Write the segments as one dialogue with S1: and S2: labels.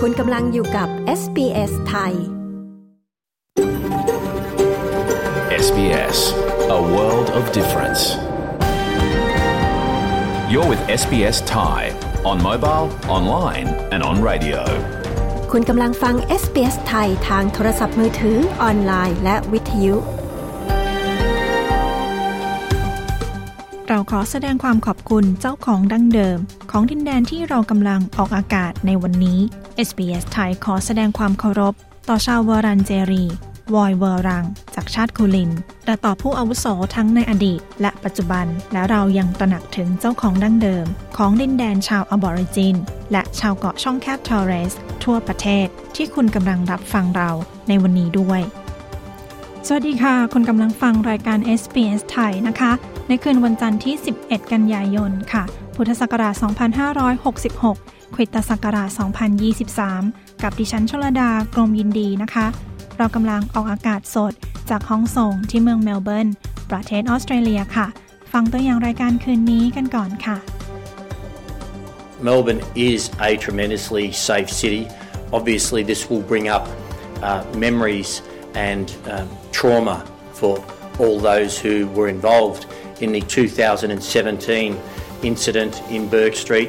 S1: คุณกำลังอยู่กับ SBS ไทย
S2: SBS A world of difference. You're with SBS Thai on mobile, online and on radio.
S1: คุณกำลังฟัง SBS ไทยทางโทรศัพท์มือถือออนไลน์และวิทยุ
S3: เราขอแสดงความขอบคุณเจ้าของดั้งเดิมของดินแดนที่เรากำลังออกอากาศในวันนี้ SBS ไทยขอแสดงความเคารพต่อชาววอรันเจรีวอยเวอรังจากชาติคูลินและต่อผู้อาวุโสทั้งในอดีตและปัจจุบันและเรายังตระหนักถึงเจ้าของดั้งเดิมของดินแดนชาวอบอริจินและชาวเกาะช่องแคบทอร์เรสทั่วประเทศที่คุณกำลังรับฟังเราในวันนี้ด้วยสวัสดีค่ะคุณกำลังฟังรายการ SBS ไทยนะคะในคืนวันจันทร์ที่11กันยายนค่ะพุทธศักราช2566คริสตศักราช2023กับดิฉันชลดากรมยินดีนะคะเรากำลังออกอากาศสดจากห้องส่งที่เมืองเมลเบิร์นประเทศออสเตรเลียค่ะฟังตัวอย่างรายการคืนนี้กันก่อนค่ะ
S4: Melbourne is a tremendously safe city. Obviously this will bring up memories and trauma for all those who were involved in the 2017 incident in Bourke Street.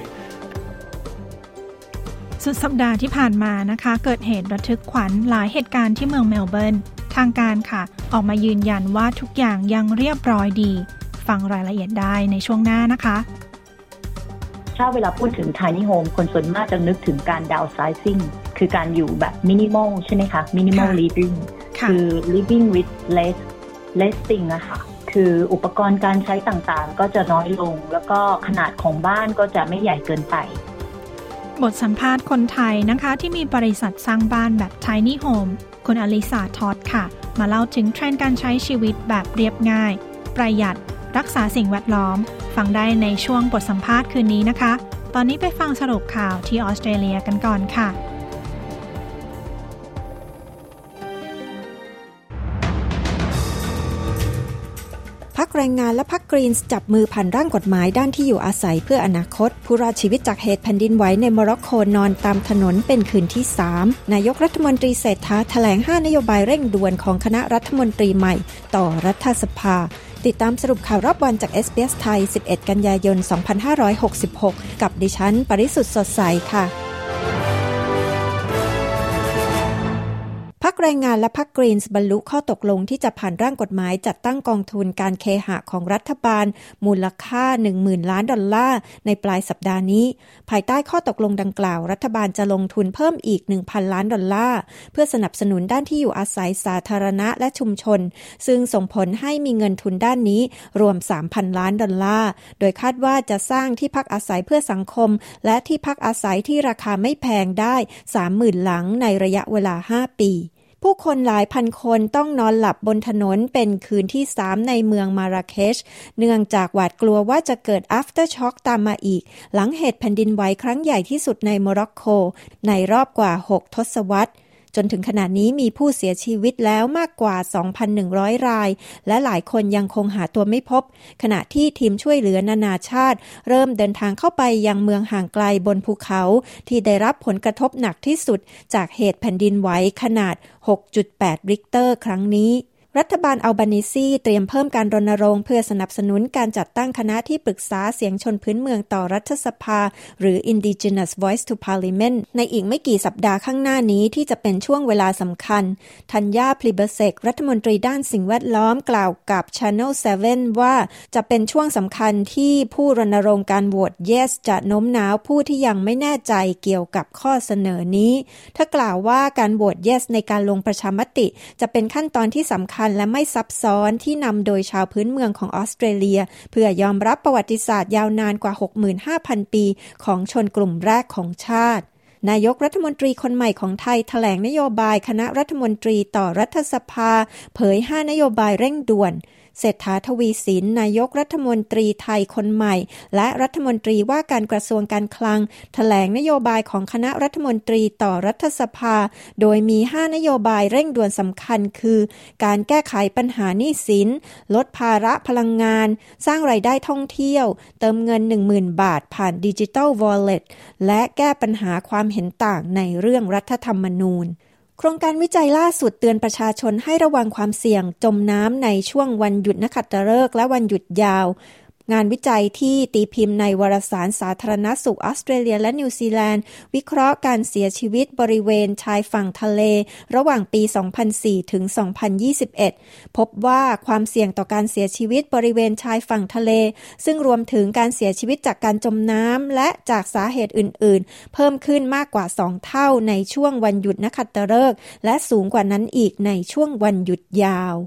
S3: สุดสัปดาห์ที่ผ่านมานะคะเกิดเหตุระทึกขวัญหลายเหตุการณ์ที่เมืองเมลเบิร์นทางการค่ะออกมายืนยันว่าทุกอย่างยังเรียบร้อยดีฟังรายละเอียดได้ในช่วงหน้านะคะ
S5: ถ้าเวลาพูดถึง Tiny Home คนส่วนมากจะนึกถึงการ downsizing คือการอยู่แบบ minimal ใช่ไหมคะ minimal living คือ living with less thing อะค่ะคืออุปกรณ์การใช้ต่างๆก็จะน้อยลงแล้วก็ขนาดของบ้านก็จะไม่ใหญ่เกินไป
S3: บทสัมภาษณ์คนไทยนะคะที่มีบริษัทสร้างบ้านแบบ Tiny Home คุณอลิสาทอดค่ะมาเล่าถึงเทรนด์การใช้ชีวิตแบบเรียบง่ายประหยัดรักษาสิ่งแวดล้อมฟังได้ในช่วงบทสัมภาษณ์คืนนี้นะคะตอนนี้ไปฟังสรุปข่าวที่ออสเตรเลียกันก่อนค่ะ
S1: พรรคแรงงานและพรรคกรีนส์จับมือผ่านร่างกฎหมายด้านที่อยู่อาศัยเพื่ออนาคตผู้รอดชีวิตจากเหตุแผ่นดินไหวในโมร็อกโกนอนตามถนนเป็นคืนที่ 3 นายกรัฐมนตรีเศรษฐาแถลง5นโยบายเร่งด่วนของคณะรัฐมนตรีใหม่ต่อรัฐสภาติดตามสรุปข่าวรอบวันจาก SBS ไทย 11 กันยายน 2566 กับดิฉันปริสุทธิ์สดใสค่ะพรรคแรงงานและพรรคกรีนส์บรรลุข้อตกลงที่จะผ่านร่างกฎหมายจัดตั้งกองทุนการเคหะของรัฐบาลมูลค่า 10,000 ล้านดอลลาร์ในปลายสัปดาห์นี้ภายใต้ข้อตกลงดังกล่าวรัฐบาลจะลงทุนเพิ่มอีก 1,000 ล้านดอลลาร์เพื่อสนับสนุนด้านที่อยู่อาศัยสาธารณะและชุมชนซึ่งส่งผลให้มีเงินทุนด้านนี้รวม 3,000 ล้านดอลลาร์โดยคาดว่าจะสร้างที่พักอาศัยเพื่อสังคมและที่พักอาศัยที่ราคาไม่แพงได้ 30,000 หลังในระยะเวลา 5 ปีผู้คนหลายพันคนต้องนอนหลับบนถนนเป็นคืนที่ 3 ในเมืองมาราเคชเนื่องจากหวาดกลัวว่าจะเกิด aftershock ตามมาอีกหลังเหตุแผ่นดินไหวครั้งใหญ่ที่สุดในโมร็อกโกในรอบกว่า 6 ทศวรรษจนถึงขณะนี้มีผู้เสียชีวิตแล้วมากกว่า 2,100 รายและหลายคนยังคงหาตัวไม่พบขณะที่ทีมช่วยเหลือนานาชาติเริ่มเดินทางเข้าไปยังเมืองห่างไกลบนภูเขาที่ได้รับผลกระทบหนักที่สุดจากเหตุแผ่นดินไหวขนาด 6.8 ริกเตอร์ครั้งนี้รัฐบาลอัลบานีซีเตรียมเพิ่มการรณรงค์เพื่อสนับสนุนการจัดตั้งคณะที่ปรึกษาเสียงชนพื้นเมืองต่อรัฐสภาหรือ Indigenous Voice to Parliament ในอีกไม่กี่สัปดาห์ข้างหน้านี้ที่จะเป็นช่วงเวลาสำคัญธัญญา พลีเบเซกรัฐมนตรีด้านสิ่งแวดล้อมกล่าวกับ Channel 7 ว่าจะเป็นช่วงสำคัญที่ผู้รณรงค์การโหวต Yes จะโน้มน้าวผู้ที่ยังไม่แน่ใจเกี่ยวกับข้อเสนอนี้เธอกล่าวว่าการโหวต Yes ในการลงประชามติจะเป็นขั้นตอนที่สำคัญและไม่ซับซ้อนที่นำโดยชาวพื้นเมืองของออสเตรเลียเพื่อยอมรับประวัติศาสตร์ยาวนานกว่า 65,000 ปีของชนกลุ่มแรกของชาตินายกรัฐมนตรีคนใหม่ของไทยแถลงนโยบายคณะรัฐมนตรีต่อรัฐสภาเผย5นโยบายเร่งด่วนเศรษฐาทวีสินนายกรัฐมนตรีไทยคนใหม่และรัฐมนตรีว่าการกระทรวงการคลังแถลงนโยบายของคณะรัฐมนตรีต่อรัฐสภาโดยมี5นโยบายเร่งด่วนสำคัญคือการแก้ไขปัญหาหนี้สินลดภาระพลังงานสร้างรายได้ท่องเที่ยวเติมเงิน 10,000 บาทผ่าน Digital Wallet และแก้ปัญหาความเห็นต่างในเรื่องรัฐธรรมนูญโครงการวิจัยล่าสุดเตือนประชาชนให้ระวังความเสี่ยงจมน้ำในช่วงวันหยุดนักขัตฤกษ์และวันหยุดยาวงานวิจัยที่ตีพิมพ์ในวารสารสาธารณสุขออสเตรเลียและนิวซีแลนด์วิเคราะห์การเสียชีวิตบริเวณชายฝั่งทะเลระหว่างปี 2004 ถึง 2021 พบว่าความเสี่ยงต่อการเสียชีวิตบริเวณชายฝั่งทะเลซึ่งรวมถึงการเสียชีวิตจากการจมน้ำและจากสาเหตุอื่นๆเพิ่มขึ้นมากกว่า 2 เท่าในช่วงวันหยุดนักขัตฤกษ์และสูงกว่านั้นอีกในช่วงวันหยุดยาว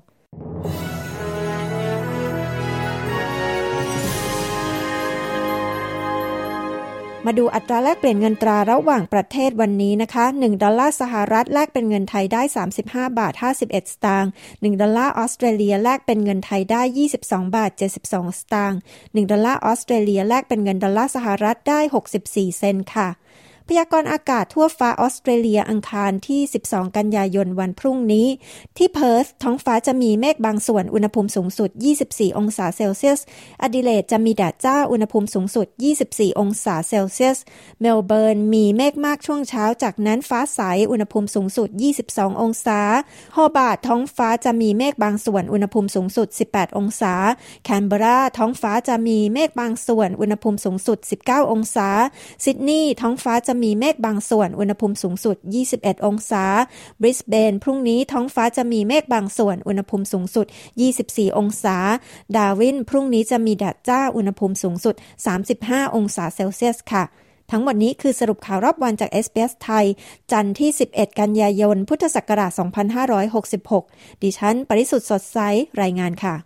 S1: มาดูอัตราแลกเปลี่ยนเงินตราระหว่างประเทศวันนี้นะคะ1ดอลลาร์สหรัฐแลกเป็นเงินไทยได้35บาท51สตางค์1ดอลลาร์ออสเตรเลียแลกเป็นเงินไทยได้22บาท72สตางค์1ดอลลาร์ออสเตรเลียแลกเป็นเงินดอลลาร์สหรัฐได้64เซนต์ค่ะพยากรณ์อากาศทั่วฟ้าออสเตรเลียอังคารที่12กันยายนวันพรุ่งนี้ที่เพิร์ธท้องฟ้าจะมีเมฆบางส่วนอุณหภูมิสูงสุด24องศาเซลเซียสอดิเลดจะมีแดดจ้าอุณหภูมิสูงสุด24องศาเซลเซียสเมลเบิร์นมีเมฆมากช่วงเช้าจากนั้นฟ้าใสอุณหภูมิสูงสุด22องศาฮอบาร์ตท้องฟ้าจะมีเมฆบางส่วนอุณหภูมิสูงสุด18องศาแคนเบราท้องฟ้าจะมีเมฆบางส่วนอุณหภูมิสูงสุด19องศาซิดนีย์ท้องฟ้าจะมีเมฆบางส่วนอุณหภูมิสูงสุด21องศาบริสเบนพรุ่งนี้ท้องฟ้าจะมีเมฆบางส่วนอุณหภูมิสูงสุด24องศาดาร์วินพรุ่งนี้จะมีแดดจ้าอุณหภูมิสูงสุด35องศาเซลเซียสค่ะทั้งหมดนี้คือสรุปข่าวรอบวันจาก SBS ไทยจันทร์ที่11กันยายนพุทธศักราช2566ดิฉันปริสุทธิ์สดใสรายงานค่ะ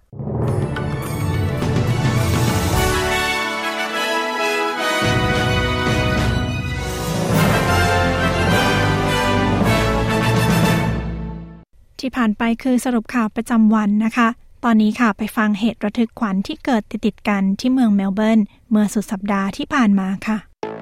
S3: ที่ผ่านไปคือสรุปข่าวประจำวันนะคะตอนนี้ค่ะไปฟังเหตุระทึกขวัญที่เกิดติดๆกันที่เมืองเมลเบิร์นเมื่อสุดสัปดาห์ที่ผ่านมาค่ะ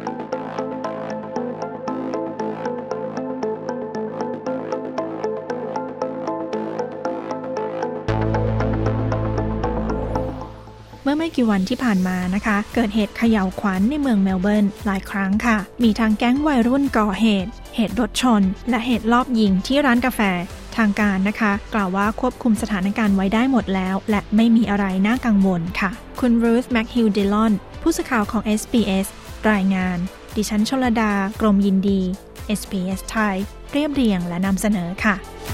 S3: เมื่อไม่กี่วันที่ผ่านมานะคะเกิดเหตุเขย่าวขวัญในเมืองเมลเบิร์นหลายครั้งค่ะมีทั้งแก๊งวัยรุ่นก่อเหตุรถชนและเหตุลอบยิงที่ร้านกาแฟทางการนะคะกล่าวว่าควบคุมสถานการณ์ไว้ได้หมดแล้วและไม่มีอะไรน่ากังวลค่ะคุณรูธแมคฮิลดิลอนผู้สื่อข่าวของ SBS รายงานดิฉันชลดากรมยินดี SBS ไทยเรียบเรียงและนำเสนอค่ะ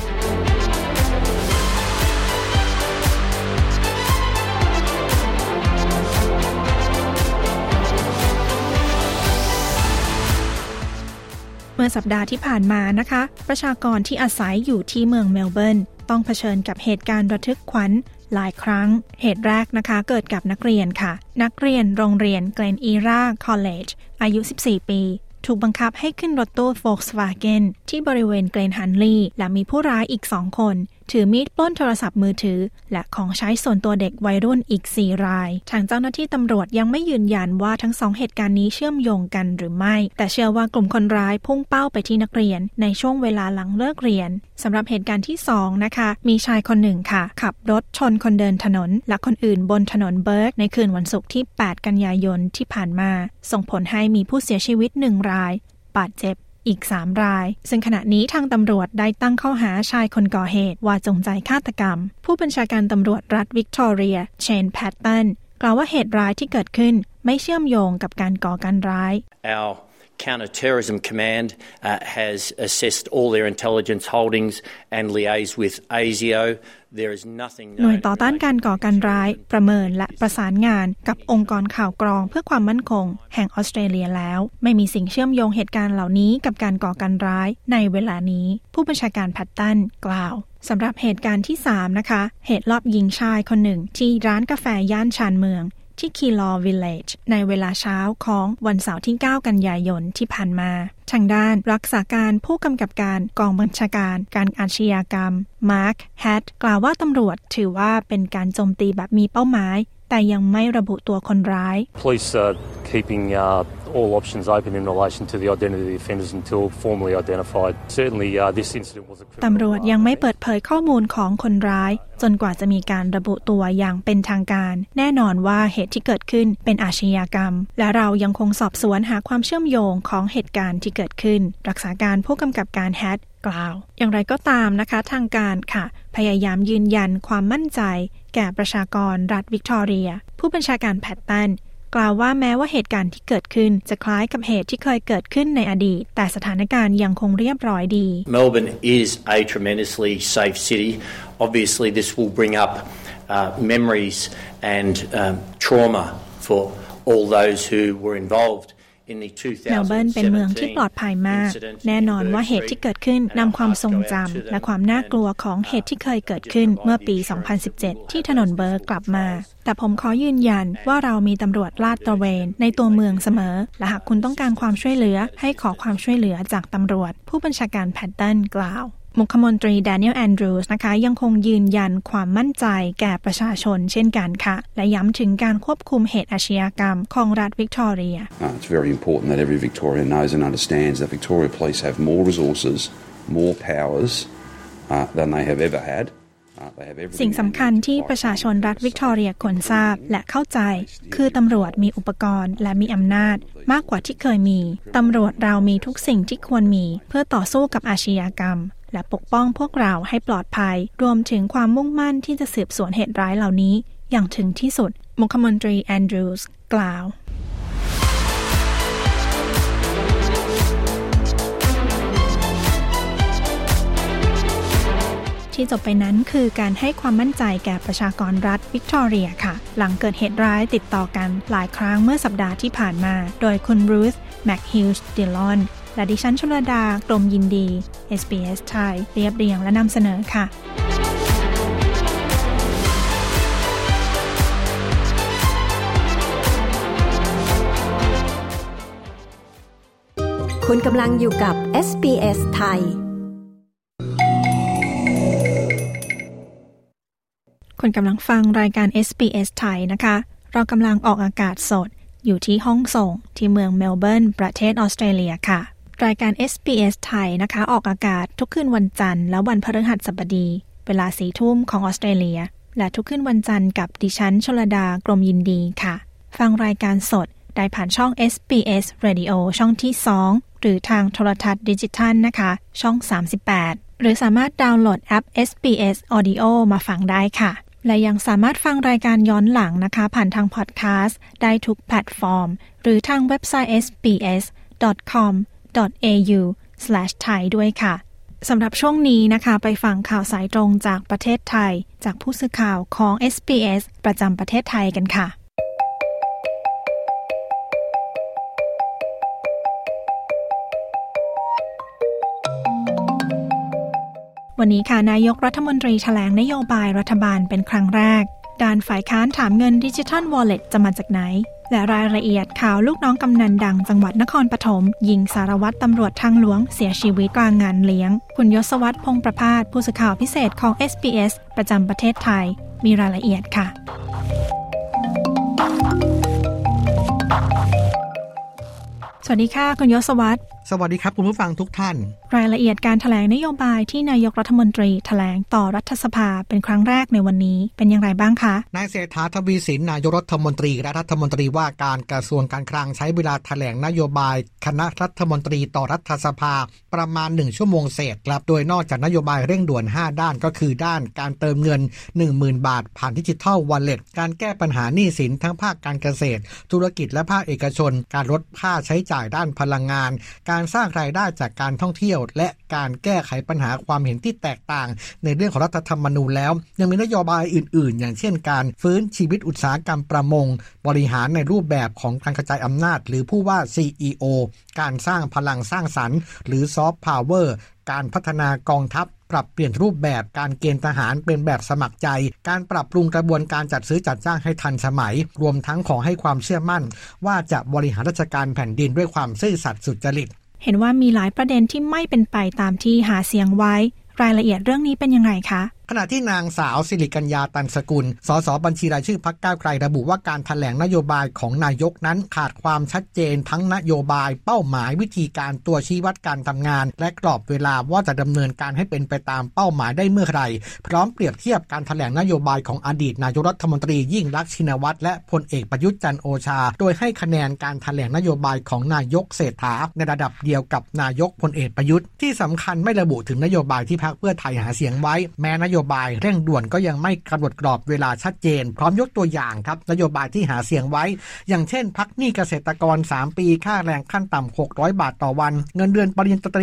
S3: เมื่อสัปดาห์ที่ผ่านมานะคะประชากรที่อาศัยอยู่ที่เมืองเมลเบิร์นต้องเผชิญกับเหตุการณ์ระทึกขวัญหลายครั้งเหตุแรกนะคะเกิดกับนักเรียนค่ะนักเรียนโรงเรียนเกรนอีราคอลเลจอายุ14ปีถูกบังคับให้ขึ้นรถตู้ Volkswagen ที่บริเวณเกรนฮันลีย์และมีผู้ร้ายอีก2คนถือมีดปล้นโทรศัพท์มือถือและของใช้ส่วนตัวเด็กวัยรุ่นอีก4รายทางเจ้าหน้าที่ตำรวจยังไม่ยืนยันว่าทั้ง2เหตุการณ์นี้เชื่อมโยงกันหรือไม่แต่เชื่อว่ากลุ่มคนร้ายพุ่งเป้าไปที่นักเรียนในช่วงเวลาหลังเลิกเรียนสำหรับเหตุการณ์ที่2นะคะมีชายคนหนึ่งค่ะขับรถชนคนเดินถนนและคนอื่นบนถนนเบิร์กในคืนวันศุกร์ที่8กันยายนที่ผ่านมาส่งผลให้มีผู้เสียชีวิต1รายบาดเจ็บอีก3รายซึ่งขณะนี้ทางตำรวจได้ตั้งข้อหาชายคนก่อเหตุว่าจงใจฆาตกรรมผู้บัญชาการตำรวจรัฐวิกตอเรียเชนแพตตันกล่าวว่าเหตุร้ายที่เกิดขึ้นไม่เชื่อมโยงกับการก่อการร้าย
S4: Our Counter-Terrorism Command has assessed all their intelligence holdings and liaised with ASIO. There is nothing.
S3: หน่วยต่อต้านการก่อการร้ายประเมินและประสานงานกับองค์กรข่าวกรองเพื่อความมั่นคงแห่งออสเตรเลียแล้วไม่มีสิ่งเชื่อมโยงเหตุการณ์เหล่านี้กับการก่อการร้ายในเวลานี้ผู้บัญชาการแพตตันกล่าวสำหรับเหตุการณ์ที่3นะคะเหตุลอบยิงชายคนหนึ่งที่ร้านกาแฟย่านชานเมืองที่คีลอวิลเลจในเวลาเช้าของวันเสาร์ที่ 9 กันยายนที่ผ่านมาทางด้านรักษาการผู้กำกับการกองบัญชาการการอาชญากรรมมาร์คแฮตกล่าวว่าตำรวจถือว่าเป็นการโจมตีแบบมีเป้าหมายแต่ยังไม่ระบุตัวคนร้าย
S6: Police are keeping all options open in relation to the identity of the offenders until formally identified. Certainly, this incident was a criminal.
S3: ตำรวจยังไม่เปิดเผยข้อมูลของคนร้ายจนกว่าจะมีการระบุตัวอย่างเป็นทางการแน่นอนว่าเหตุที่เกิดขึ้นเป็นอาชญากรรมและเรายังคงสอบสวนหาความเชื่อมโยงของเหตุการณ์ที่เกิดขึ้นรักษาการผู้กำกับการแฮตกล่าวอย่างไรก็ตามนะคะทางการค่ะพยายามยืนยันความมั่นใจแก่ประชากรรัฐวิกตอเรียผู้บัญชาการแพตตันกล่าวว่าแม้ว่าเหตุการณ์ที่เกิดขึ้นจะคล้ายกับเหตุที่เคยเกิดขึ้นในอดีตแต่สถานการณ์ยังคงเรียบร้อยดี
S4: Melbourne is a tremendously safe city. Obviously, this will bring up memories and trauma for all those who were involved.
S3: เมลเบิร์นเป็นเมืองที่ปลอดภัยมากแน่นอนว่าเหตุที่เกิดขึ้นนำความทรงจำและความน่ากลัวของเหตุที่เคยเกิดขึ้นเมื่อปี 2017 ที่ถนนเบิร์กกลับมาแต่ผมขอยืนยันว่าเรามีตำรวจลาดตระเวนในตัวเมืองเสมอและหากคุณต้องการความช่วยเหลือให้ขอความช่วยเหลือจากตำรวจผู้บัญชาการแพตตันกล่าวมุขมนตรีแดเนียลแอนดรูสนะคะยังคงยืนยันความมั่นใจแก่ประชาชนเช่นกันค่ะและย้ำถึงการควบคุมเหตุอาชญากรรมของรัฐวิกตอเรีย
S7: It's very important that every Victorian knows and understands that Victoria Police have more resources, more powers than they have ever had.
S3: สิ่งสำคัญที่ประชาชนรัฐวิกตอเรียควรทราบและเข้าใจคือตำรวจมีอุปกรณ์และมีอำนาจมากกว่าที่เคยมีตำรวจเรามีทุกสิ่งที่ควรมีเพื่อต่อสู้กับอาชญากรรมและปกป้องพวกเราให้ปลอดภัยรวมถึงความมุ่งมั่นที่จะสืบสวนเหตุร้ายเหล่านี้อย่างถึงที่สุดมุขมนตรีแอนดรูสกล่าวที่จบไปนั้นคือการให้ความมั่นใจแก่ประชากรรัฐวิกตอเรียค่ะหลังเกิดเหตุร้ายติดต่อกันหลายครั้งเมื่อสัปดาห์ที่ผ่านมาโดยคุณบรูซแมคฮิลส์ดิลอนและดิฉันชลดากรมยินดี SBS ไทยเรียบเรียงและนำเสนอค่ะ
S1: คุณกำลังอยู่กับ SBS ไทย
S3: คุณกำลังฟังรายการ SBS ไทยนะคะเรากำลังออกอากาศสดอยู่ที่ห้องส่งที่เมืองเมลเบิร์นประเทศออสเตรเลียค่ะรายการ SBS ไทยนะคะออกอากาศทุกคืนวันจันทร์และวันพฤหัสบดีเวลา 4 ทุ่มของออสเตรเลียและทุกคืนวันจันทร์กับดิฉันชลดากรมยินดีค่ะฟังรายการสดได้ผ่านช่อง SBS Radio ช่องที่ 2 หรือทางโทรทัศน์ดิจิทัลนะคะช่อง 38 หรือสามารถดาวน์โหลดแอป SBS Audio มาฟังได้ค่ะและยังสามารถฟังรายการย้อนหลังนะคะผ่านทางพอดแคสต์ได้ทุกแพลตฟอร์มหรือทางเว็บไซต์ sbs.com.au/thai ด้วยค่ะสำหรับช่วงนี้นะคะไปฟังข่าวสายตรงจากประเทศไทยจากผู้สื่อข่าวของ SBS ประจำประเทศไทยกันค่ะวันนี้ค่ะนายกรัฐมนตรีแถลงนโยบายรัฐบาลเป็นครั้งแรกด้านฝ่ายค้านถามเงิน Digital Wallet จะมาจากไหนและรายละเอียดข่าวลูกน้องกำนันดังจังหวัดนครปฐมยิงสารวัตรตำรวจทางหลวงเสียชีวิตกลางงานเลี้ยงคุณยศวัฒน์พงษ์ประภาสผู้สื่อข่าวพิเศษของ SBS ประจำประเทศไทยมีรายละเอียดค่ะสวัสดีค่ะคุณยศวัฒน์
S8: สวัสดีครับคุณผู้ฟังทุกท่าน
S3: รายละเอียดการแถลงนโยบายที่นายกรัฐมนตรีแถลงต่อรัฐสภาเป็นครั้งแรกในวันนี้เป็นอย่างไรบ้างคะ
S8: นายเศรษฐาทวีสินนายกรัฐมนตรีและรัฐมนตรีว่าการกระทรวงการคลังใช้เวลาแถลงนโยบายคณะรัฐมนตรีต่อรัฐสภาประมาณ1ชั่วโมงเศษครับโดยนอกจากนโยบายเร่งด่วน5ด้านก็คือด้านการเติมเงิน 10,000 บาทผ่านดิจิทัลวอลเล็ตการแก้ปัญหาหนี้สินทั้งภาคการเกษตรธุรกิจและภาคเอกชนการลดค่าใช้จ่ายด้านพลังงานการสร้างรายได้จากการท่องเที่ยวและการแก้ไขปัญหาความเห็นที่แตกต่างในเรื่องของรัฐธรรมนูญแล้วยังมีนโยบายอื่นๆอย่างเช่นการฟื้นชีวิตอุตสาหกรรมประมงบริหารในรูปแบบของการกระจายอำนาจหรือผู้ว่า CEO การสร้างพลังสร้างสรรค์หรือซอฟต์พาวเวอร์การพัฒนากองทัพปรับเปลี่ยนรูปแบบการเกณฑ์ทหารเป็นแบบสมัครใจการปรับปรุงกระบวนการจัดซื้อจัดจ้างให้ทันสมัยรวมทั้งขอให้ความเชื่อมั่นว่าจะบริหารราชการแผ่นดินด้วยความซื่อสัตย์สุจริต
S3: เห็นว่ามีหลายประเด็นที่ไม่เป็นไปตามที่หาเสียงไว้รายละเอียดเรื่องนี้เป็นยังไงคะ
S8: ขณะที่นางสาวสิริกัญญาตันสกุลสสบัญชีรายชื่อพรรคก้าวไกลระบุว่าการแถลงนโยบายของนายกนั้นขาดความชัดเจนทั้งนโยบายเป้าหมายวิธีการตัวชี้วัดการทำงานและกรอบเวลาว่าจะดำเนินการให้เป็นไปตามเป้าหมายได้เมื่อไหร่พร้อมเปรียบเทียบการแถลงนโยบายของอดีตนายกรัฐมนตรียิ่งลักษณ์ชินวัตรและพลเอกประยุทธ์จันทร์โอชาโดยให้คะแนนการแถลงนโยบายของนายกเศรษฐาในระดับเดียวกับนายกพลเอกประยุทธ์ที่สำคัญไม่ระบุถึงนโยบายที่พรรคเพื่อไทยหาเสียงไว้แม้นโยบายเร่งด่วนก็ยังไม่กำหนดกรอบเวลาชัดเจนพร้อมยกตัวอย่างครับนโยบายที่หาเสียงไว้อย่างเช่นพักหนี้เกษตรกร3ปีค่าแรงขั้นต่ำ600บาทต่อวันเงินเดือนปริญญาตรี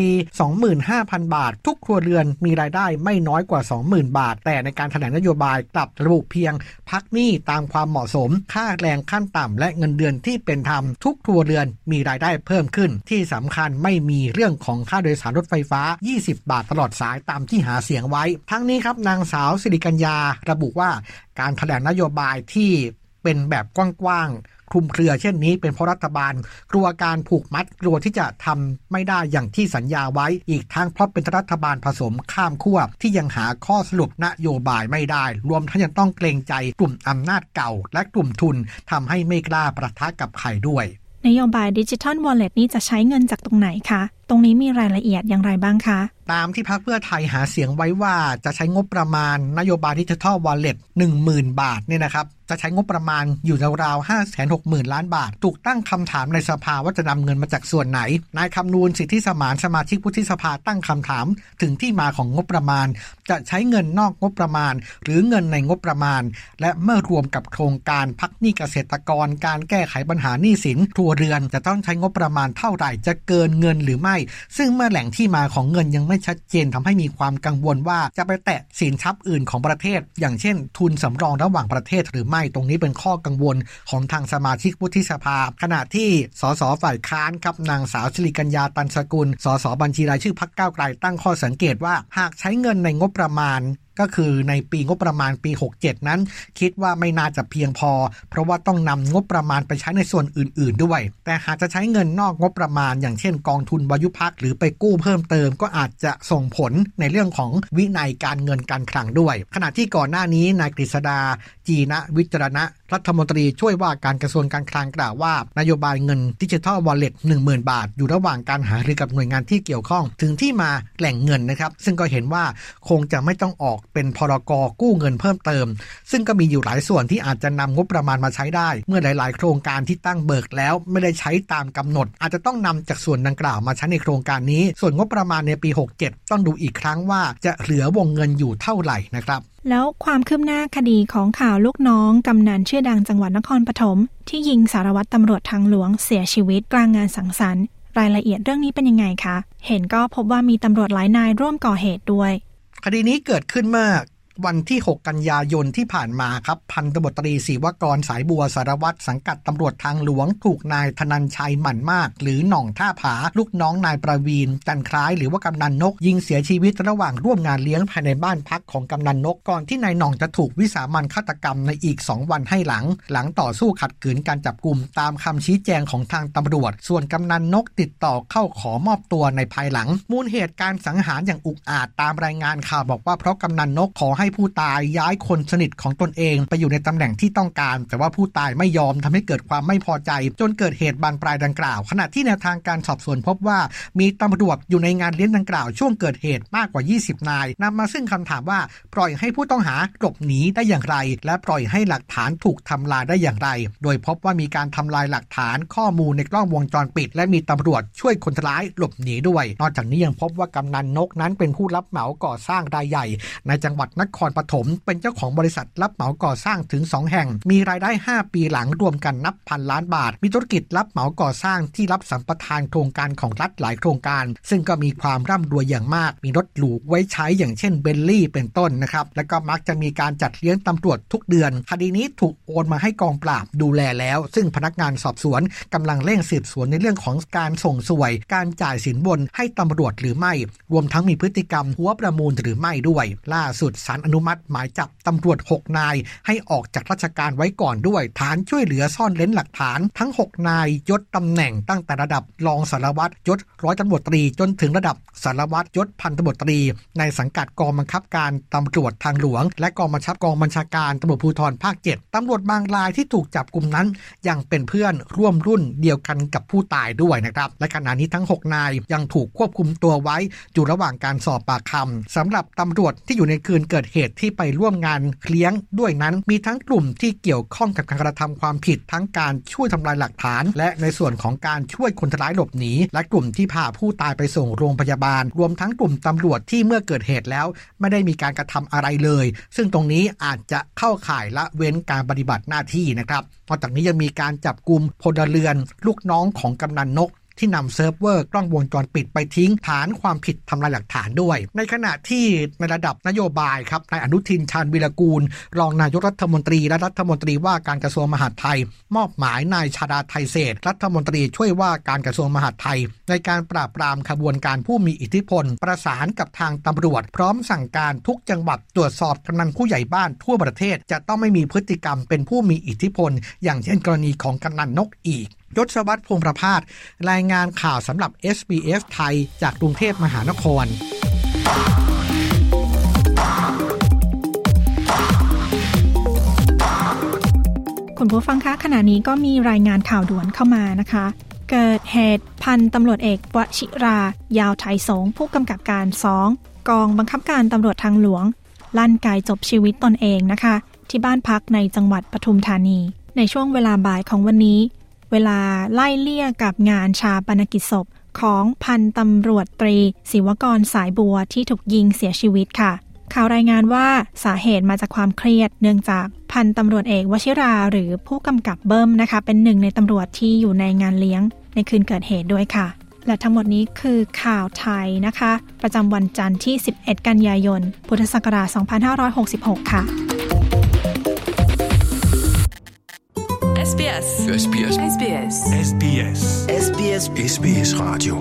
S8: 25,000 บาททุกครัวเรือนมีรายได้ไม่น้อยกว่า 20,000 บาทแต่ในการแถลงนโยบายกลับระบุเพียงพักหนี้ตามความเหมาะสมค่าแรงขั้นต่ำและเงินเดือนที่เป็นธรรมทุกครัวเรือนมีรายได้เพิ่มขึ้นที่สำคัญไม่มีเรื่องของค่าโดยสารรถไฟฟ้า20 บาทตลอดสายตามที่หาเสียงไว้ทั้งนี้ครับนางสาวสิริกัญญาระบุว่าการแถลงนโยบายที่เป็นแบบกว้างๆคลุมเครือเช่นนี้เป็นเพราะรัฐบาลกลัวการผูกมัดกลัวที่จะทำไม่ได้อย่างที่สัญญาไว้อีกทั้งเพราะเป็นรัฐบาลผสมข้ามขั้วที่ยังหาข้อสรุปนโยบายไม่ได้รวมทั้งยังต้องเกรงใจกลุ่มอำนาจเก่าและกลุ่มทุนทำให้ไม่กล้าประทะกับใครด้วย
S3: นโยบาย Digital Wallet นี้จะใช้เงินจากตรงไหนคะตรงนี้มีรายละเอียดอย่างไรบ้างคะ
S8: ตามที่พรรคเพื่อไทยหาเสียงไว้ว่าจะใช้งบประมาณนโยบาย Digital Wallet 10,000 บาทเนี่ยนะครับจะใช้งบประมาณอยู่ราวๆ 560,000 ล้านบาทถูกตั้งคำถามในสภาว่าจะนำเงินมาจากส่วนไหนนายคำนูนสิทธิสมานสมาชิกวุฒิสภาตั้งคำถามถึงที่มาของงบประมาณจะใช้เงินนอกงบประมาณหรือเงินในงบประมาณและเมื่อรวมกับโครงการพักหนี้เกษตรกรการแก้ไขปัญหาหนี้สินครัวเรือนจะต้องใช้งบประมาณเท่าไหร่จะเกินเงินหรือไม่ซึ่งเมื่อแหล่งที่มาของเงินยังไม่ชัดเจนทำให้มีความกังวลว่าจะไปแตะสินทรัพย์อื่นของประเทศอย่างเช่นทุนสำรองระหว่างประเทศหรือไม่ตรงนี้เป็นข้อกังวลของทางสมาชิกวุฒิสภาขณะที่สสฝ่ายค้านครับนางสาวสิริกัญญาตันสกุลสสบัญชีรายชื่อพรรคก้าวไกลตั้งข้อสังเกตว่าหากใช้เงินในงบประมาณก็คือในปีงบประมาณปี67นั้นคิดว่าไม่น่าจะเพียงพอเพราะว่าต้องนำงบประมาณไปใช้ในส่วนอื่นๆด้วยแต่หากจะใช้เงินนอกงบประมาณอย่างเช่นกองทุนวายุพักหรือไปกู้เพิ่มเติมก็อาจจะส่งผลในเรื่องของวินัยการเงินการคลังด้วยขณะที่ก่อนหน้านี้นายกฤษดาจีนะวิจารณะรัฐมนตรีช่วยว่าการกระทรวงการคลังกล่าวว่านโยบายเงิน Digital Wallet 10,000 บาทอยู่ระหว่างการหารือกับหน่วยงานที่เกี่ยวข้องถึงที่มาแหล่งเงินนะครับซึ่งก็เห็นว่าคงจะไม่ต้องออกเป็นพรก.กู้เงินเพิ่มเติมซึ่งก็มีอยู่หลายส่วนที่อาจจะนำงบประมาณมาใช้ได้เมื่อหลายๆโครงการที่ตั้งเบิกแล้วไม่ได้ใช้ตามกำหนดอาจจะต้องนำจากส่วนดังกล่าวมาใช้ในโครงการนี้ส่วนงบประมาณในปี67ต้องดูอีกครั้งว่าจะเหลือวงเงินอยู่เท่าไหร่นะครับ
S3: แล้วความคืบหน้าคดีของข่าวลูกน้องกำนันชื่อดังจังหวัดนครปฐมที่ยิงสารวัตรตำรวจทางหลวงเสียชีวิตกลางงานสังสรรค์รายละเอียดเรื่องนี้เป็นยังไงคะเห็นก็พบว่ามีตำรวจหลายนายร่วมก่อเหตุด้วย
S8: คดีนี้เกิดขึ้นเมื่อวันที่6กันยายนที่ผ่านมาครับพันตำรวจตรีศิวกรสายบัวสารวัตรสังกัดตำรวจทางหลวงถูกนายธนันชัยหมั่นมากหรือหน่องท่าผาลูกน้องนายประวีนจันคล้ายหรือว่ากำนันนกยิงเสียชีวิตระหว่างร่วมงานเลี้ยงภายในบ้านพักของกำนันนกก่อนที่นายหน่องจะถูกวิสามัญฆาตกรรมในอีก2วันให้หลังต่อสู้ขัดขืนการจับกุมตามคำชี้แจงของทางตำรวจส่วนกำนันนกติดต่อเข้าขอมอบตัวในภายหลังมูลเหตุการสังหารอย่างอุกอาจตามรายงานข่าวบอกว่าเพราะกำนันนกขอให้ผู้ตายย้ายคนสนิทของตนเองไปอยู่ในตำแหน่งที่ต้องการแต่ว่าผู้ตายไม่ยอมทำให้เกิดความไม่พอใจจนเกิดเหตุบานปลายดังกล่าวขณะที่แนวทางการสอบสวนพบว่ามีตำรวจอยู่ในงานเลี้ยงดังกล่าวช่วงเกิดเหตุมากกว่า20นายนำมาซึ่งคำถามว่าปล่อยให้ผู้ต้องหาหลบหนีได้อย่างไรและปล่อยให้หลักฐานถูกทำลายได้อย่างไรโดยพบว่ามีการทำลายหลักฐานข้อมูลในกล้องวงจรปิดและมีตำรวจช่วยคนร้ายหลบหนีด้วยนอกจากนี้ยังพบว่ากำนันนกนั้นเป็นผู้รับเหมาก่อสร้างรายใหญ่ในจังหวัดนครปฐมเป็นเจ้าของบริษัทรับเหมาก่อสร้างถึง2แห่งมีรายได้5ปีหลังรวมกันนับพันล้านบาทมีธุรกิจรับเหมาก่อสร้างที่รับสัมปทานโครงการของรัฐหลายโครงการซึ่งก็มีความร่ำรวยอย่างมากมีรถหรูไว้ใช้อย่างเช่นเบนลี่เป็นต้นนะครับและก็มักจะมีการจัดเลี้ยงตำรวจทุกเดือนคดีนี้ถูกโอนมาให้กองปราบดูแลแล้วซึ่งพนักงานสอบสวนกำลังเร่งสืบสวนในเรื่องของการส่งสวยการจ่ายสินบนให้ตำรวจหรือไม่รวมทั้งมีพฤติกรรมหัวประมูลหรือไม่ด้วยล่าสุดศาลอนุมัติหมายจับตำรวจ6นายให้ออกจากราชการไว้ก่อนด้วยฐานช่วยเหลือซ่อนเร้นหลักฐานทั้ง6นายยศตำแหน่งตั้งแต่ระดับรองสารวัตรยศร้อยตำรวจตรีจนถึงระดับสารวัตรยศพันตำรวจตรีในสังกัดกองบังคับการตำรวจทางหลวงและกองบัญชาการตำรวจภูธรภาค7ตำรวจบางรายที่ถูกจับกุมนั้นยังเป็นเพื่อนร่วมรุ่นเดียวกันกับผู้ตายด้วยนะครับและขณะนี้ทั้ง6นายยังถูกควบคุมตัวไว้อยู่ระหว่างการสอบปากคำสำหรับตำรวจที่อยู่ในคืนเกิดเหตุที่ไปร่วมงานเลี้ยงด้วยนั้นมีทั้งกลุ่มที่เกี่ยวข้องกับการกระทำความผิดทั้งการช่วยทำลายหลักฐานและในส่วนของการช่วยคนร้ายหลบหนีและกลุ่มที่พาผู้ตายไปส่งโรงพยาบาลรวมทั้งกลุ่มตำรวจที่เมื่อเกิดเหตุแล้วไม่ได้มีการกระทำอะไรเลยซึ่งตรงนี้อาจจะเข้าข่ายละเว้นการปฏิบัติหน้าที่นะครับนอกจากนี้ยังมีการจับกุมพลเรือนลูกน้องของกำนันนกที่นำเซิร์ฟเวอร์กล้องวงจรปิดไปทิ้งฐานความผิดทำลายหลักฐานด้วยในขณะที่ในระดับนโยบายครับนายอนุทินชาญวีรกูลรองนายกรัฐมนตรีและรัฐมนตรีว่าการกระทรวงมหาดไทยมอบหมายนายชาดาไทเศรษฐ์รัฐมนตรีช่วยว่าการกระทรวงมหาดไทยในการปราบปรามขบวนการผู้มีอิทธิพลประสานกับทางตำรวจพร้อมสั่งการทุกจังหวัดตรวจสอบกำนันผู้ใหญ่บ้านทั่วประเทศจะต้องไม่มีพฤติกรรมเป็นผู้มีอิทธิพลอย่างเช่นกรณีของกำนันนกอีกยศวัฒน์พงษ์ประภาสรายงานข่าวสำหรับ SBS ไทยจากกรุงเทพมหานคร
S3: คุณผู้ฟังคะขณะนี้ก็มีรายงานข่าวด่วนเข้ามานะคะเกิดเหตุพันตำรวจเอกวชิรายาวไทยสงผู้กำกับการ2กองบังคับการตำรวจทางหลวงลั่นไกจบชีวิตตนเองนะคะที่บ้านพักในจังหวัดปทุมธานีในช่วงเวลาบ่ายของวันนี้เวลาไล่เลี่ยกับงานชาปนกิจศพของพันตำรวจตรีศิวกรสายบัวที่ถูกยิงเสียชีวิตค่ะข่าวรายงานว่าสาเหตุมาจากความเครียดเนื่องจากพันตำรวจเอกวชิราหรือผู้กำกับเบิ้มนะคะเป็นหนึ่งในตำรวจที่อยู่ในงานเลี้ยงในคืนเกิดเหตุด้วยค่ะและทั้งหมดนี้คือข่าวไทยนะคะประจำวันจันทร์ที่11กันยายนพุทธศักราช2566ค่ะ
S9: SBS
S10: SBS
S9: SBS
S10: SBS
S9: SBS
S10: SBS Radio